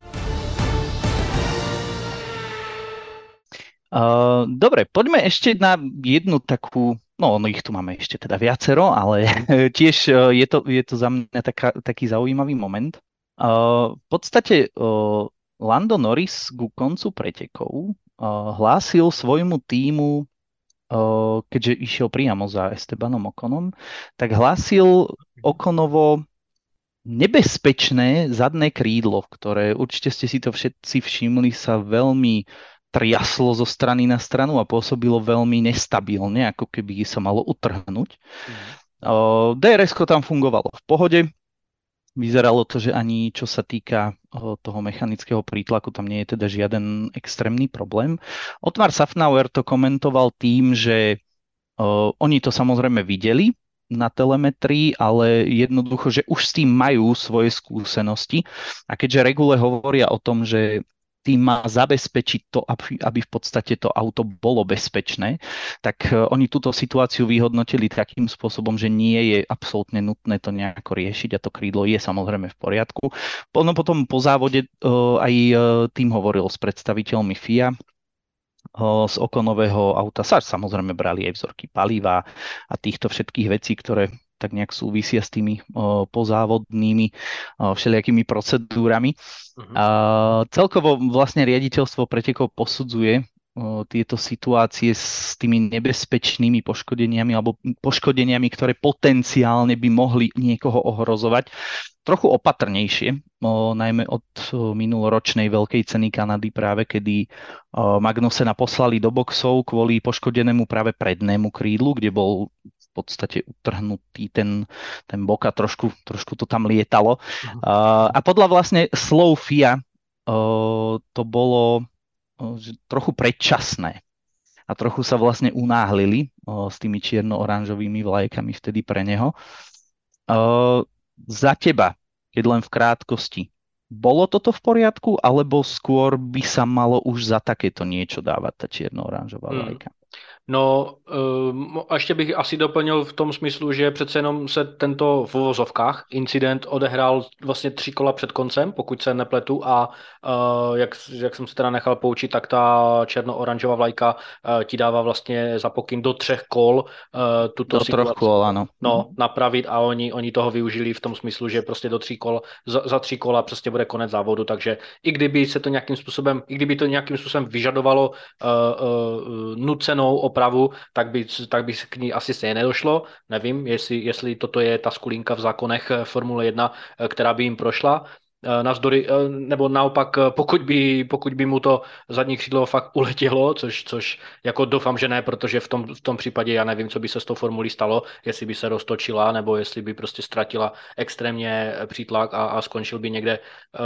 Uh, dobre, poďme ešte na jednu takú, no ich tu máme ešte teda viacero, ale tiež uh, je, to, je to za mňa taká, taký zaujímavý moment. Uh, v podstate uh, Lando Norris ku koncu pretekov hlásil svojmu tímu, keďže išiel priamo za Estebanom Oconom, tak hlásil Oconovo nebezpečné zadné krídlo, ktoré určite ste si to všetci všimli, sa veľmi triaslo zo strany na stranu a pôsobilo veľmi nestabilne, ako keby sa malo utrhnúť. Mm. dé er esko tam fungovalo v pohode. Vyzeralo to, že ani čo sa týka toho mechanického prítlaku, tam nie je teda žiaden extrémny problém. Otmar Safnauer to komentoval tým, že uh, oni to samozrejme videli na telemetrii, ale jednoducho, že už s tým majú svoje skúsenosti. A keďže regule hovoria o tom, že tým má zabezpečiť to, aby, aby v podstate to auto bolo bezpečné, tak oni túto situáciu vyhodnotili takým spôsobom, že nie je absolútne nutné to nejako riešiť a to krídlo je samozrejme v poriadku. No potom po závode aj tým hovoril s predstaviteľmi F I A, z Oconového auta sa samozrejme brali aj vzorky paliva a týchto všetkých vecí, ktoré tak nejak súvisia s tými o, pozávodnými o, všelijakými procedúrami. Uh-huh. A celkovo vlastne riaditeľstvo pretekov posudzuje o, tieto situácie s tými nebezpečnými poškodeniami alebo poškodeniami, ktoré potenciálne by mohli niekoho ohrozovať, trochu opatrnejšie, o, najmä od o, minuloročnej veľkej ceny Kanady práve, kedy o, Magnusena poslali do boxov kvôli poškodenému práve prednému krídlu, kde bol v podstate utrhnutý ten, ten bok a trošku, trošku to tam lietalo. Mhm. Uh, a podľa vlastne slov FIA uh, to bolo uh, trochu predčasné a trochu sa vlastne unáhlili uh, s tými čierno-oranžovými vlajkami vtedy pre neho. Uh, za teba, keď len v krátkosti, bolo toto v poriadku, alebo skôr by sa malo už za takéto niečo dávať tá čierno-oranžová Hmm. vlajka? No, um, a ještě bych asi doplnil v tom smyslu, že přece jenom se tento v uvozovkách incident odehrál vlastně tři kola před koncem, pokud se nepletu, a uh, jak, jak jsem se teda nechal poučit, tak ta černo-oranžová vlajka uh, ti dává vlastně za pokyn do třech kol uh, tuto Do troch situaci kôl, áno. no, napravit, a oni, oni toho využili v tom smyslu, že prostě do tří kol, za, za tři kola prostě bude konec závodu, takže i kdyby se to nějakým způsobem, i kdyby to nějakým způsobem vyžadovalo uh, uh, nucenou opravu, tak by, tak by k ní asi stejně nedošlo. Nevím, jestli, jestli toto je ta skulinka v zákonech Formule jedna, která by jim prošla. Navzdory, nebo naopak, pokud by, pokud by mu to zadní křídlo fakt uletělo, což, což jako doufám, že ne, protože v tom, v tom případě já nevím, co by se s tou formulí stalo, jestli by se roztočila, nebo jestli by prostě ztratila extrémně přítlak a, a skončil by někde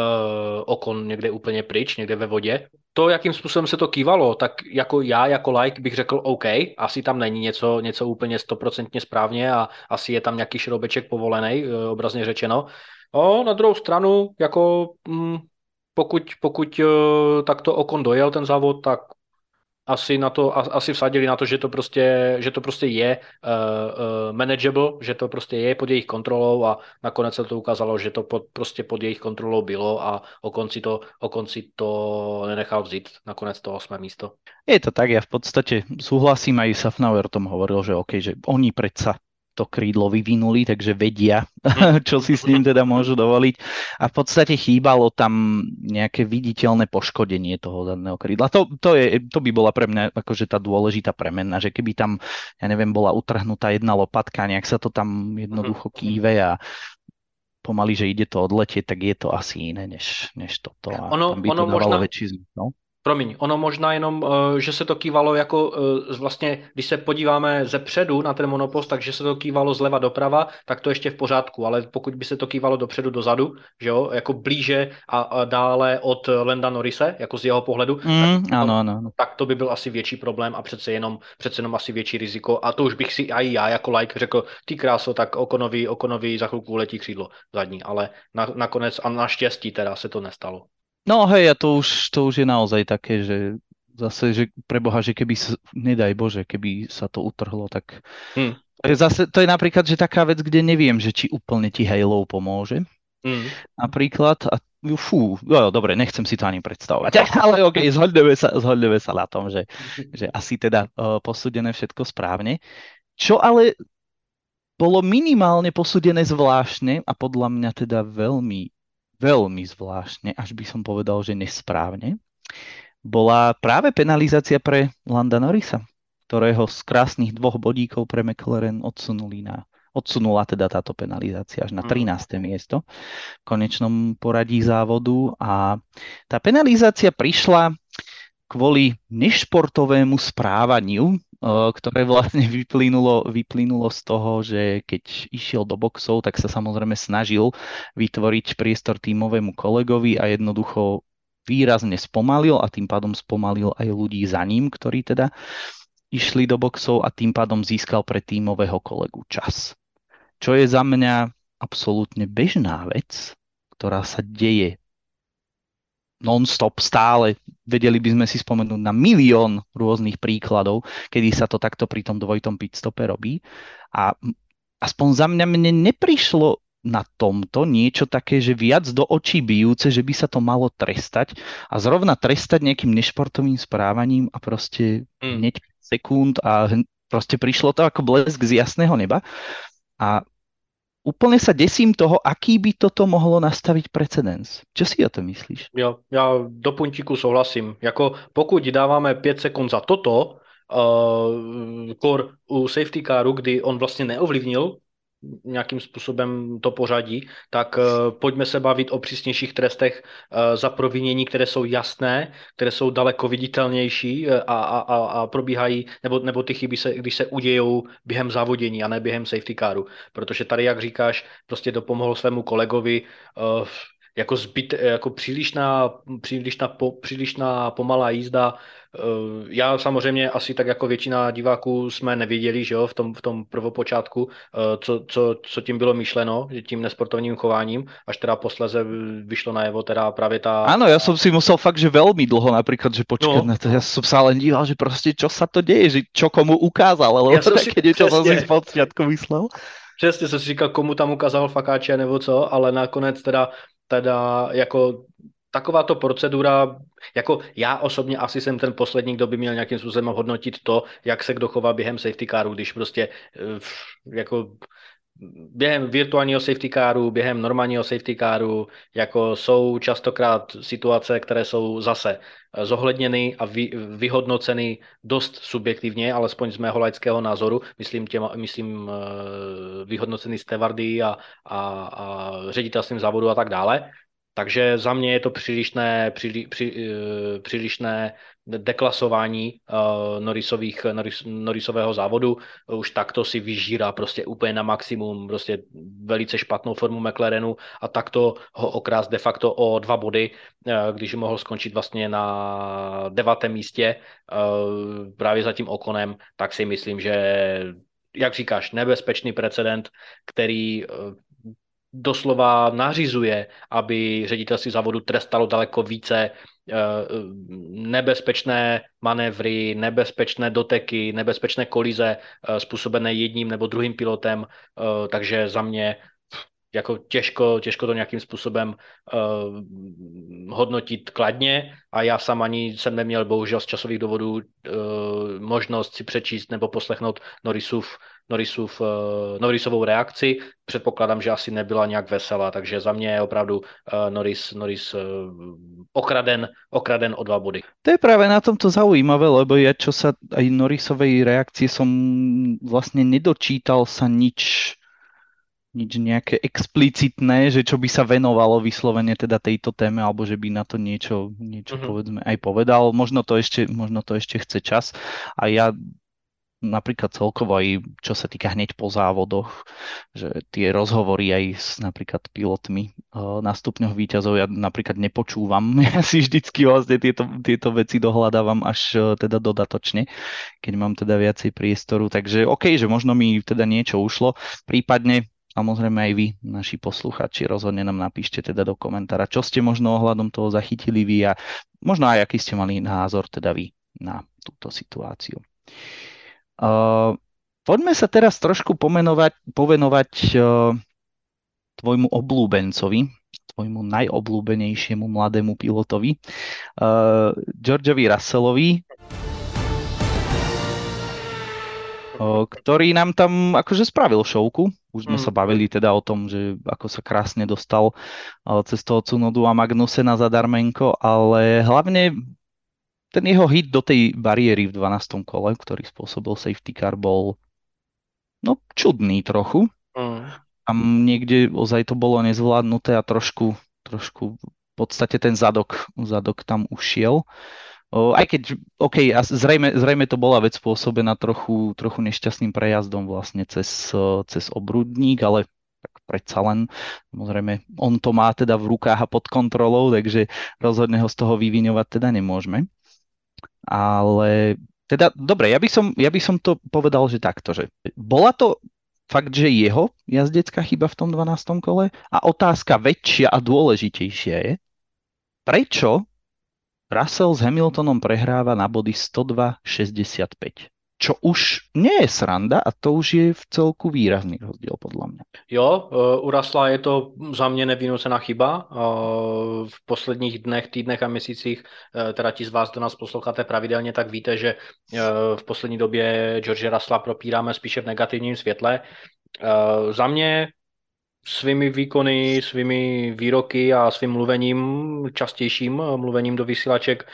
uh, okon někde úplně pryč, někde ve vodě. To, jakým způsobem se to kývalo, tak jako já, jako like bych řekl OK, asi tam není něco, něco úplně stoprocentně správně a asi je tam nějaký šroubeček povolený, obrazně řečeno. O, na druhou stranu, jako mm, pokud, pokud uh, takto Ocon dojel ten závod, tak asi na to, asi vsadili na to, že to prostě, že to prostě je uh, uh, manageable, že to prostě je pod jejich kontrolou, a nakonec se to ukázalo, že to pod, prostě pod jejich kontrolou bylo a Ocon si to, Ocon si to nenechal vzít, nakonec to osmé místo. Je to tak, ja v podstate súhlasím, aj Safnauer o tom hovoril, že OK, že oni predsa to krídlo vyvinuli, takže vedia, čo si s ním teda môžu dovoliť. A v podstate chýbalo tam nejaké viditeľné poškodenie toho zadného krídla. To, to, je, to by bola pre mňa akože tá dôležitá premena, že keby tam, ja neviem, bola utrhnutá jedna lopatka, nejak sa to tam jednoducho kýve a pomaly, že ide to odletieť, tak je to asi iné než, než toto. A ono, tam by to ono dávalo možná... väčší zmysel. Promiň, ono možná jenom, že se to kývalo jako vlastně, když se podíváme ze předu na ten monopost, takže se to kývalo zleva doprava, tak to ještě v pořádku, ale pokud by se to kývalo dopředu dozadu, že jo, jako blíže a dále od Landa Norrise, jako z jeho pohledu, Mm, tak, ano, ano, ano. tak to by byl asi větší problém a přece jenom, přece jenom asi větší riziko, a to už bych si i já jako like řekl, ty kráso, tak Okonovi, Okonovi za chvilku letí křídlo zadní, ale na, nakonec a naštěstí teda se to nestalo. No hej, a to už, to už je naozaj také, že zase, že preboha, že keby sa, nedaj Bože, keby sa to utrhlo, tak Hmm. to je zase, to je napríklad, že taká vec, kde neviem, že či úplne ti Halo pomôže. Hmm. Napríklad, a fú, no, dobre, nechcem si to ani predstavovať, ale okej, okay, zhodneme sa, zhodneme sa na tom, že, že asi teda uh, posúdené všetko správne. Čo ale bolo minimálne posúdené zvláštne a podľa mňa teda veľmi veľmi zvláštne, až by som povedal, že nesprávne, bola práve penalizácia pre Landa Norrisa, ktorého z krásnych dvoch bodíkov pre McLaren odsunuli na, odsunula teda táto penalizácia až na trináste miesto v konečnom poradí závodu, a tá penalizácia prišla kvôli nešportovému správaniu, ktoré vlastne vyplynulo, vyplynulo z toho, že keď išiel do boxov, tak sa samozrejme snažil vytvoriť priestor tímovému kolegovi a jednoducho výrazne spomalil, a tým pádom spomalil aj ľudí za ním, ktorí teda išli do boxov, a tým pádom získal pre tímového kolegu čas. Čo je za mňa absolútne bežná vec, ktorá sa deje non-stop stále. Vedeli by sme si spomenúť na milión rôznych príkladov, kedy sa to takto pri tom dvojitom pitstope robí. A aspoň za mňa mne neprišlo na tomto niečo také, že viac do očí bijúce, že by sa to malo trestať, a zrovna trestať nejakým nešportovým správaním a proste mm. hneď sekúnd a proste prišlo to ako blesk z jasného neba. A úplne sa desím toho, aký by toto mohlo nastaviť precedens. Čo si o to myslíš? Jo, já do puntíku souhlasím. Jako pokud dáváme pět sekund za toto, uh, kor u safety caru, kdy on vlastně neovlivnil nějakým způsobem to pořadí, tak uh, pojďme se bavit o přísnějších trestech uh, za provinění, které jsou jasné, které jsou daleko viditelnější a, a, a, a probíhají, nebo, nebo ty chyby, se, když se udějou během závodění a ne během safety caru. Protože tady, jak říkáš, prostě dopomohl svému kolegovi uh, jako zbyt, jako přílišná, přílišná, po, přílišná pomalá jízda. Já samozřejmě asi tak jako většina diváků jsme nevěděli, že jo, v tom, v tom prvopočátku, co, co, co tím bylo myšleno, tím nesportovním chováním, až teda posléze vyšlo najevo teda právě ta... Áno, ja som si musel fakt, že veľmi dlho napríklad, že počkať No. na to. Ja som sa len díval, že proste čo sa to deje, že čo komu ukázal, alebo Ja som si- také niečo som si přesně. spočiatku myslel. Přesně jsem si říkal, komu tam ukázal fakáče nebo co, ale nakonec teda, teda jako takováto procedura, jako já osobně asi jsem ten poslední, kdo by měl nějakým způsobem hodnotit to, jak se kdo chová během safety caru, když prostě eh, jako během virtuálního safety caru, během normálního safety caru, jako jsou častokrát situace, které jsou zase zohledněny a vy, vyhodnoceny dost subjektivně, alespoň z mého laického názoru, myslím, těma, myslím vyhodnoceny stevardy a, a, a ředitelstvím závodu a tak dále. Takže za mě je to přílišné, příli, při, přílišné deklasování uh, Norrisových, Norris, Norrisového závodu. Už takto si vyžírá prostě úplně na maximum, prostě velice špatnou formu McLarenu a takto ho okrást de facto o dva body, uh, když mohl skončit vlastně na devátém místě uh, právě za tím Okonem, tak si myslím, že jak říkáš, nebezpečný precedent, který uh, doslova nařizuje, aby ředitelství závodu trestalo daleko více nebezpečné manévry, nebezpečné doteky, nebezpečné kolize způsobené jedním nebo druhým pilotem, takže za mě jako těžko, těžko to nějakým způsobem uh, hodnotit kladně a já sám ani jsem neměl bohužel z časových důvodů uh, možnost si přečíst nebo poslechnout Norrisův, Norrisův, uh, Norrisovou reakci. Předpokládám, že asi nebyla nějak veselá, takže za mě je opravdu uh, Norris, Norris uh, okraden, okraden o dva body. To je práve na tomto zaujímavé, lebo ja čo sa aj Norrisovej reakcie som vlastne nedočítal sa nič nič nejaké explicitné, že čo by sa venovalo vyslovene teda tejto téme, alebo že by na to niečo, niečo uh-huh. povedzme aj povedal. Možno to ešte, možno to ešte chce čas. A ja napríklad celkovo aj čo sa týka hneď po závodoch, že tie rozhovory aj s napríklad pilotmi na stupňoch víťazov ja napríklad nepočúvam. Ja si vždycky vlastne tieto, tieto veci dohľadávam až teda dodatočne, keď mám teda viacej priestoru. Takže OK, že možno mi teda niečo ušlo. Prípadne samozrejme aj vy, naši posluchači, rozhodne nám napíšte teda do komentára, čo ste možno ohľadom toho zachytili vy a možno aj aký ste mali názor teda vy na túto situáciu. Uh, poďme sa teraz trošku pomenovať, povenovať uh, tvojmu oblúbencovi, tvojmu najobľúbenejšiemu mladému pilotovi, uh, Georgeovi Russellovi, ktorý nám tam akože spravil šovku. Už sme mm. sa bavili teda o tom, že ako sa krásne dostal cez toho Tsunodu a Magnusena zadarmenko, ale hlavne ten jeho hit do tej bariéry v dvanástom kole, ktorý spôsobil safety car, bol no čudný trochu. Mm. Tam niekde ozaj to bolo nezvládnuté a trošku, trošku v podstate ten zadok, zadok tam ušiel. O, aj keď, OK, a zrejme, zrejme to bola vec spôsobená trochu, trochu nešťastným prejazdom vlastne cez, cez obrudník, ale tak predsa len, samozrejme, on to má teda v rukách a pod kontrolou, takže rozhodne ho z toho vyviňovať teda nemôžeme. Ale teda, dobre, ja by som, ja by som to povedal, že takto, že bola to fakt, že jeho jazdecká chyba v tom dvanástom kole a otázka väčšia a dôležitejšia je, prečo Russell s Hamiltonom prehráva na body sto dva šesťdesiatpäť. Čo už nie je sranda a to už je v celku výrazný rozdiel podľa mňa. Jo, u Russella je to za mě nevynucená chyba. V posledních dnech, týdnech a měsících, teda ti z vás, kdo nás posloucháte pravidelně, tak víte, že v poslední době George Russella propíráme spíše v negativním světle. Za mě svými výkony, svými výroky a svým mluvením, častějším mluvením do vysílaček,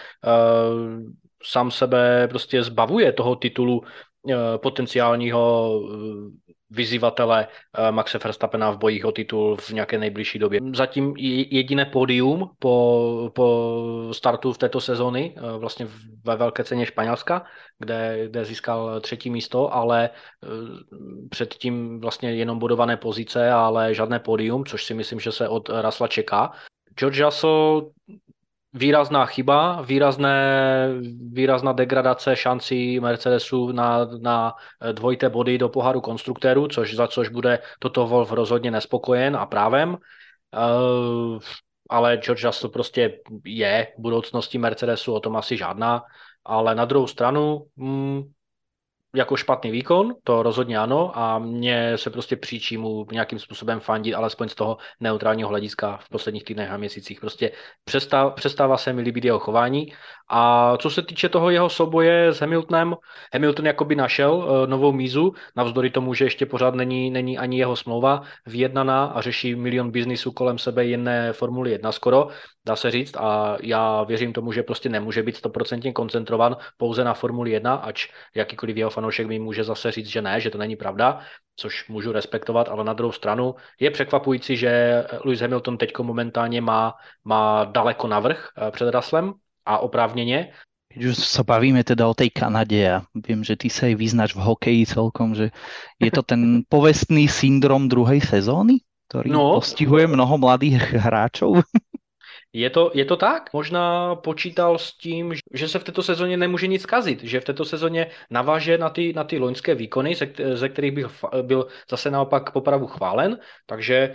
sám sebe prostě zbavuje toho titulu potenciálního vyzývatele eh, Maxe Verstappena v bojích o titul v nějaké nejbližší době. Zatím jediné pódium po, po startu v této sezóny, eh, vlastně ve velké ceně Španělska, kde, kde získal třetí místo, ale eh, předtím vlastně jenom bodované pozice, ale žádné pódium, což si myslím, že se od Russella čeká. George Russell výrazná chyba, výrazné, výrazná degradace šancí Mercedesu na, na dvojité body do poháru konstruktérů, což, za což bude Toto Wolff rozhodně nespokojen a právem. Uh, ale George Russell prostě je budoucností Mercedesu, o tom asi žádná. Ale na druhou stranu, mm, jako špatný výkon, to rozhodně ano, a mně se prostě příčí mu nějakým způsobem fandit, alespoň z toho neutrálního hlediska v posledních týdnech a měsících. Prostě přestává, přestává se mi líbit jeho chování. A co se týče toho jeho souboje s Hamiltonem, Hamilton jakoby našel uh, novou mízu, navzdory tomu, že ještě pořád není, není ani jeho smlouva vyjednaná a řeší milion biznisů kolem sebe jedné Formuli jedna skoro, dá se říct, a já věřím tomu, že prostě nemůže být stoprocentně koncentrovan pouze na Formuli jedna, ač jakýkoliv jeho fanoušek mi může zase říct, že ne, že to není pravda, což můžu respektovat, ale na druhou stranu je překvapující, že Lewis Hamilton teď momentálně má, má daleko navrch před Russellem a oprávněně. Keď už sa bavíme teda o tej Kanade a viem, že ty sa aj vyznáš v hokeji celkom, že je to ten povestný syndrom druhej sezóny, ktorý no, postihuje mnoho mladých hráčov? Je to, je to tak? Možná počítal s tím, že se v této sezóně nemůže nic kazit, že v této sezóně naváže na ty, na ty loňské výkony, ze, ze kterých bych byl zase naopak popravu chválen, takže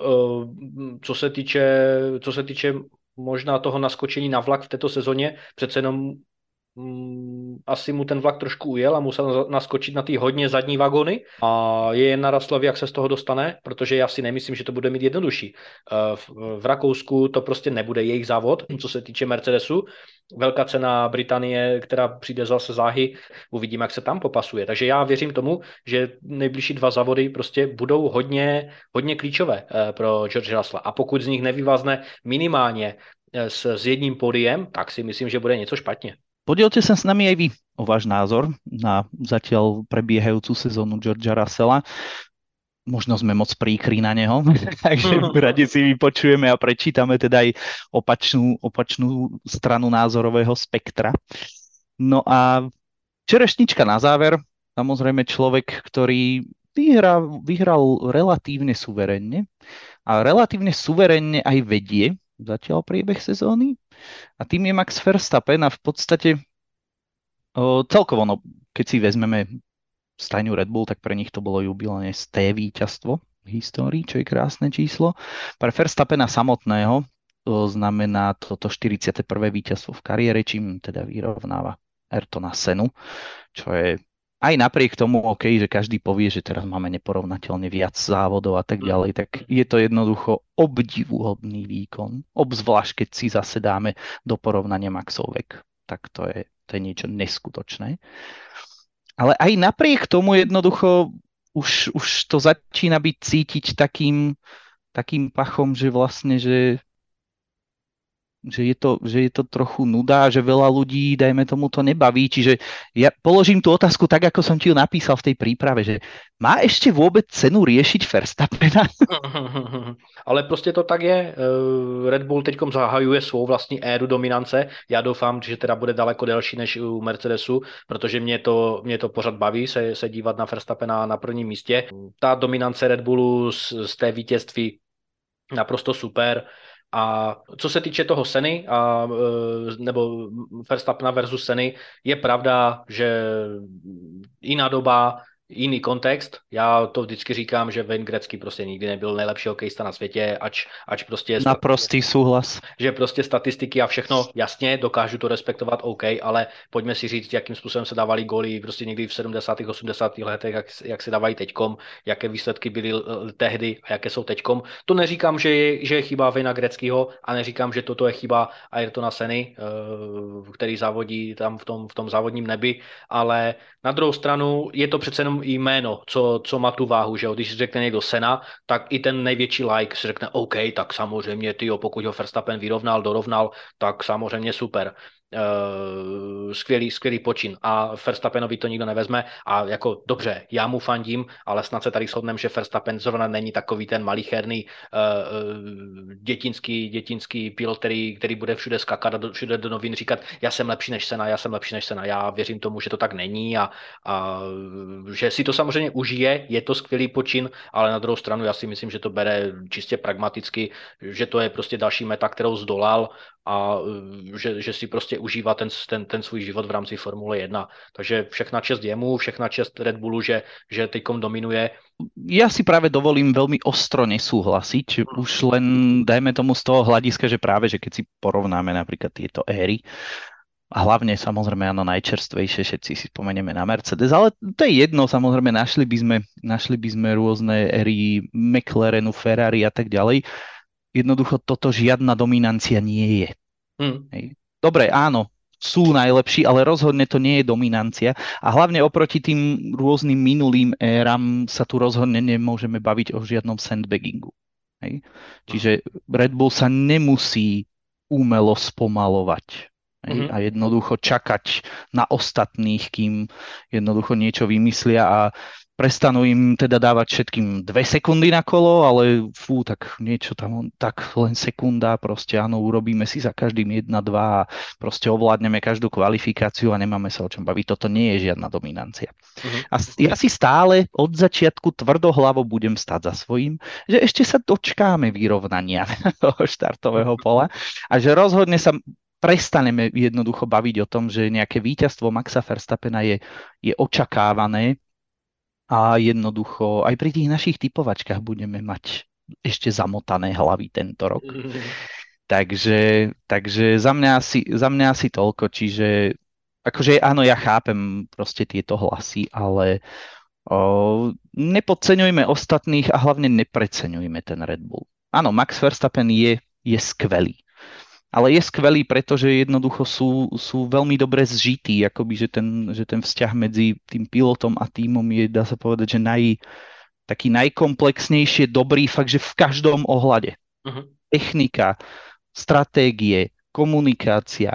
co se týče, co se týče možná toho naskočení na vlak v této sezóně, přece jenom Mm, asi mu ten vlak trošku ujel a musel naskočit na ty hodně zadní vagony a je jen na Russellovi, jak se z toho dostane, protože já si nemyslím, že to bude mít jednodušší. V, v Rakousku to prostě nebude jejich závod, co se týče Mercedesu. Velká cena Británie, která přijde zase záhy, uvidíme, jak se tam popasuje. Takže já věřím tomu, že nejbližší dva závody prostě budou hodně, hodně klíčové pro George Russella. A pokud z nich nevyvázne minimálně s, s jedním pódiem, tak si myslím, že bude něco špatně. Podielte sa s nami aj vy o váš názor na zatiaľ prebiehajúcu sezónu Georgea Russella. Možno sme moc príkri na neho, takže radi si vypočujeme a prečítame teda aj opačnú, opačnú stranu názorového spektra. No a čerešnička na záver, samozrejme človek, ktorý vyhra, vyhral relatívne suverenne a relatívne suverenne aj vedie zatiaľ priebeh sezóny. A tým je Max Verstappen a v podstate o, celkovo, no, keď si vezmeme stajňu Red Bull, tak pre nich to bolo jubilejné sté víťazstvo v histórii, čo je krásne číslo. Pre Verstappena samotného to znamená toto štyridsiate prvé víťazstvo v kariére, čím teda vyrovnáva Ayrtona Senu, čo je aj napriek tomu, OK, že každý povie, že teraz máme neporovnateľne viac závodov a tak ďalej, tak je to jednoducho obdivuhodný výkon. Obzvlášť, keď si zase dáme do porovnania Maxov vek. Tak to je, to je niečo neskutočné. Ale aj napriek tomu jednoducho už, už to začína byť cítiť takým, takým pachom, že vlastne, že Že je, to, že je to trochu nuda, že veľa ľudí, dajme tomu, to nebaví. Čiže ja položím tú otázku tak, ako som ti ju napísal v tej príprave, že má ešte vôbec cenu riešiť Verstappena? Ale prostě to tak je. Red Bull teďkom zahajuje svou vlastní éru dominance. Já doufám, že teda bude daleko delší než u Mercedesu, protože mě to, mě to pořád baví se, se dívat na Verstappena na prvním místě. Ta dominance Red Bullu z, z té vítězství naprosto super. A co se týče toho Seny, a, nebo Verstappena versus Seny, je pravda, že jiná doba, jiný kontext. Já to vždycky říkám, že Wayne Gretzky prostě nikdy nebyl nejlepší hokejista na světě, ač, ač prostě... Naprostý souhlas. Že prostě statistiky a všechno, jasně, dokážu to respektovat, OK, ale pojďme si říct, jakým způsobem se dávali góly prostě někdy v sedmdesátých osmdesátých letech, jak, jak se dávají teďkom, jaké výsledky byly tehdy a jaké jsou teďkom. To neříkám, že je, že je chyba Wayna Gretzkyho a neříkám, že toto je chyba Ayrtona Seny, který závodí tam v tom, v tom závodním nebi, ale na druhou stranu je to přece jenom jméno, co, co má tu váhu, že jo? Když řekne někdo Sena, tak i ten největší like si řekne OK, tak samozřejmě tyjo, pokud ho Verstappen vyrovnal, dorovnal, tak samozřejmě super. uh, skvělý, skvělý počin a Verstappenovi to nikdo nevezme a jako dobře, já mu fandím, ale snad se tady shodneme, že Verstappen zrovna není takový ten malicherný uh, dětinský, dětinský pilot, který, který bude všude skakat a do, všude do novin říkat, já jsem lepší než Senna, já jsem lepší než Senna. Já věřím tomu, že to tak není a, a že si to samozřejmě užije, je to skvělý počin, ale na druhou stranu já si myslím, že to bere čistě pragmaticky, že to je prostě další meta, kterou zdolal a že, že si prostě užívá ten, ten, ten svůj život v rámci Formule jedna. Takže všechna čest jemu, všechna čest Red Bullu, že, že teďkom dominuje. Ja si práve dovolím veľmi ostro nesúhlasiť, už len dajme tomu z toho hľadiska, že práve, že keď si porovnáme napríklad tieto éry, a hlavne samozrejme áno, najčerstvejšie, všetci si spomenieme na Mercedes, ale to je jedno, samozrejme našli by sme, našli by sme rôzne éry McLarenu, Ferrari a tak ďalej. Jednoducho toto žiadna dominancia nie je. Hmm. Hej. Dobre, áno, sú najlepší, ale rozhodne to nie je dominancia a hlavne oproti tým rôznym minulým éram sa tu rozhodne nemôžeme baviť o žiadnom sandbaggingu. Hej. Čiže Red Bull sa nemusí umelo spomalovať. Hej, Mm-hmm. a jednoducho čakať na ostatných, kým jednoducho niečo vymyslia a prestanú im teda dávať všetkým dve sekundy na kolo, ale fú, tak niečo tam, tak len sekunda, proste áno, urobíme si za každým jedna, dva a proste ovládneme každú kvalifikáciu a nemáme sa o čom baviť. Toto nie je žiadna dominancia. Mm-hmm. A ja si stále od začiatku tvrdohlavo budem stáť za svojím, že ešte sa dočkáme vyrovnania toho štartového pola a že rozhodne sa prestaneme jednoducho baviť o tom, že nejaké víťazstvo Maxa Verstappena je, je očakávané a jednoducho aj pri tých našich typovačkách budeme mať ešte zamotané hlavy tento rok. Mm-hmm. Takže, takže za mňa asi, za mňa asi toľko, čiže akože áno, ja chápem proste tieto hlasy, ale o, nepodceňujme ostatných a hlavne nepreceňujme ten Red Bull. Áno, Max Verstappen je, je skvelý. Ale je skvelý, pretože jednoducho sú, sú veľmi dobre zžití, akoby, že ten, že ten vzťah medzi tým pilotom a tímom je, dá sa povedať, že naj, taký najkomplexnejšie dobrý, fakt, že v každom ohľade. Uh-huh. Technika, stratégie, komunikácia,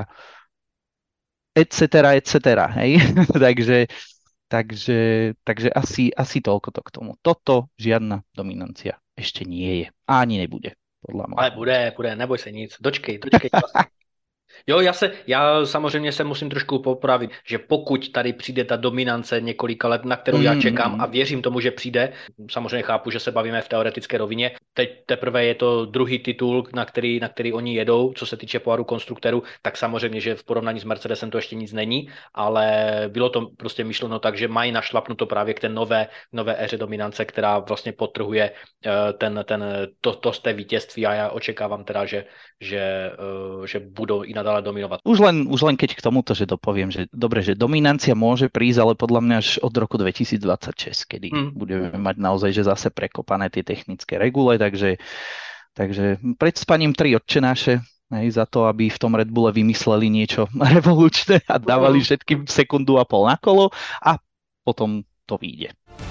et cetera, et cetera, hej? takže, takže, takže asi, asi toľko to k tomu. Toto žiadna dominancia ešte nie je. A ani nebude. Ale bude, bude, neboj se nic, dočkej, dočkej. Jo, já se, já samozřejmě se musím trošku popravit, že pokud tady přijde ta dominance několika let, na kterou já čekám a věřím tomu, že přijde, samozřejmě chápu, že se bavíme v teoretické rovině, teď teprve je to druhý titul, na který, na který oni jedou, co se týče poháru konstruktérů, tak samozřejmě, že v porovnání s Mercedesem to ještě nic není, ale bylo to prostě myšleno tak, že mají našlapnuto právě k té nové, nové éře dominance, která vlastně podtrhuje ten, ten, to, to z té vítězství a já očekávám teda, že, že, že budou i nadále dominovať. Už len, už len keď k tomuto, že dopoviem, že dobre, že dominancia môže prísť, ale podľa mňa až od roku dvetisícdvadsaťšesť, kedy mm. budeme mať naozaj, že zase prekopané tie technické regule, takže, takže pred spaním tri otčenáše, hej, za to, aby v tom Red Bulle vymysleli niečo revolučné a dávali všetkým sekundu a pol na kolo a potom to vyjde.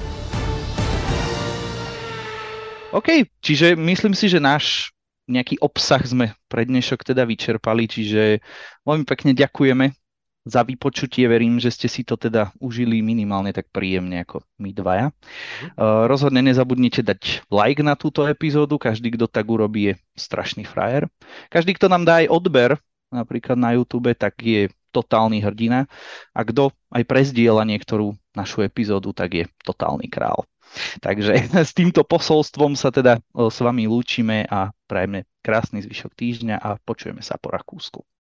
OK, čiže myslím si, že náš nejaký obsah sme pre dnešok teda vyčerpali, čiže veľmi pekne ďakujeme za vypočutie, verím, že ste si to teda užili minimálne tak príjemne ako my dvaja. Uh, rozhodne nezabudnite dať like na túto epizódu, každý, kto tak urobí, je strašný frajer. Každý, kto nám dá aj odber, napríklad na YouTube, tak je totálny hrdina a kto aj prezdiela niektorú našu epizódu, tak je totálny král. Takže s týmto posolstvom sa teda s vami lúčime a prajeme krásny zvyšok týždňa a počujeme sa po Rakúsku.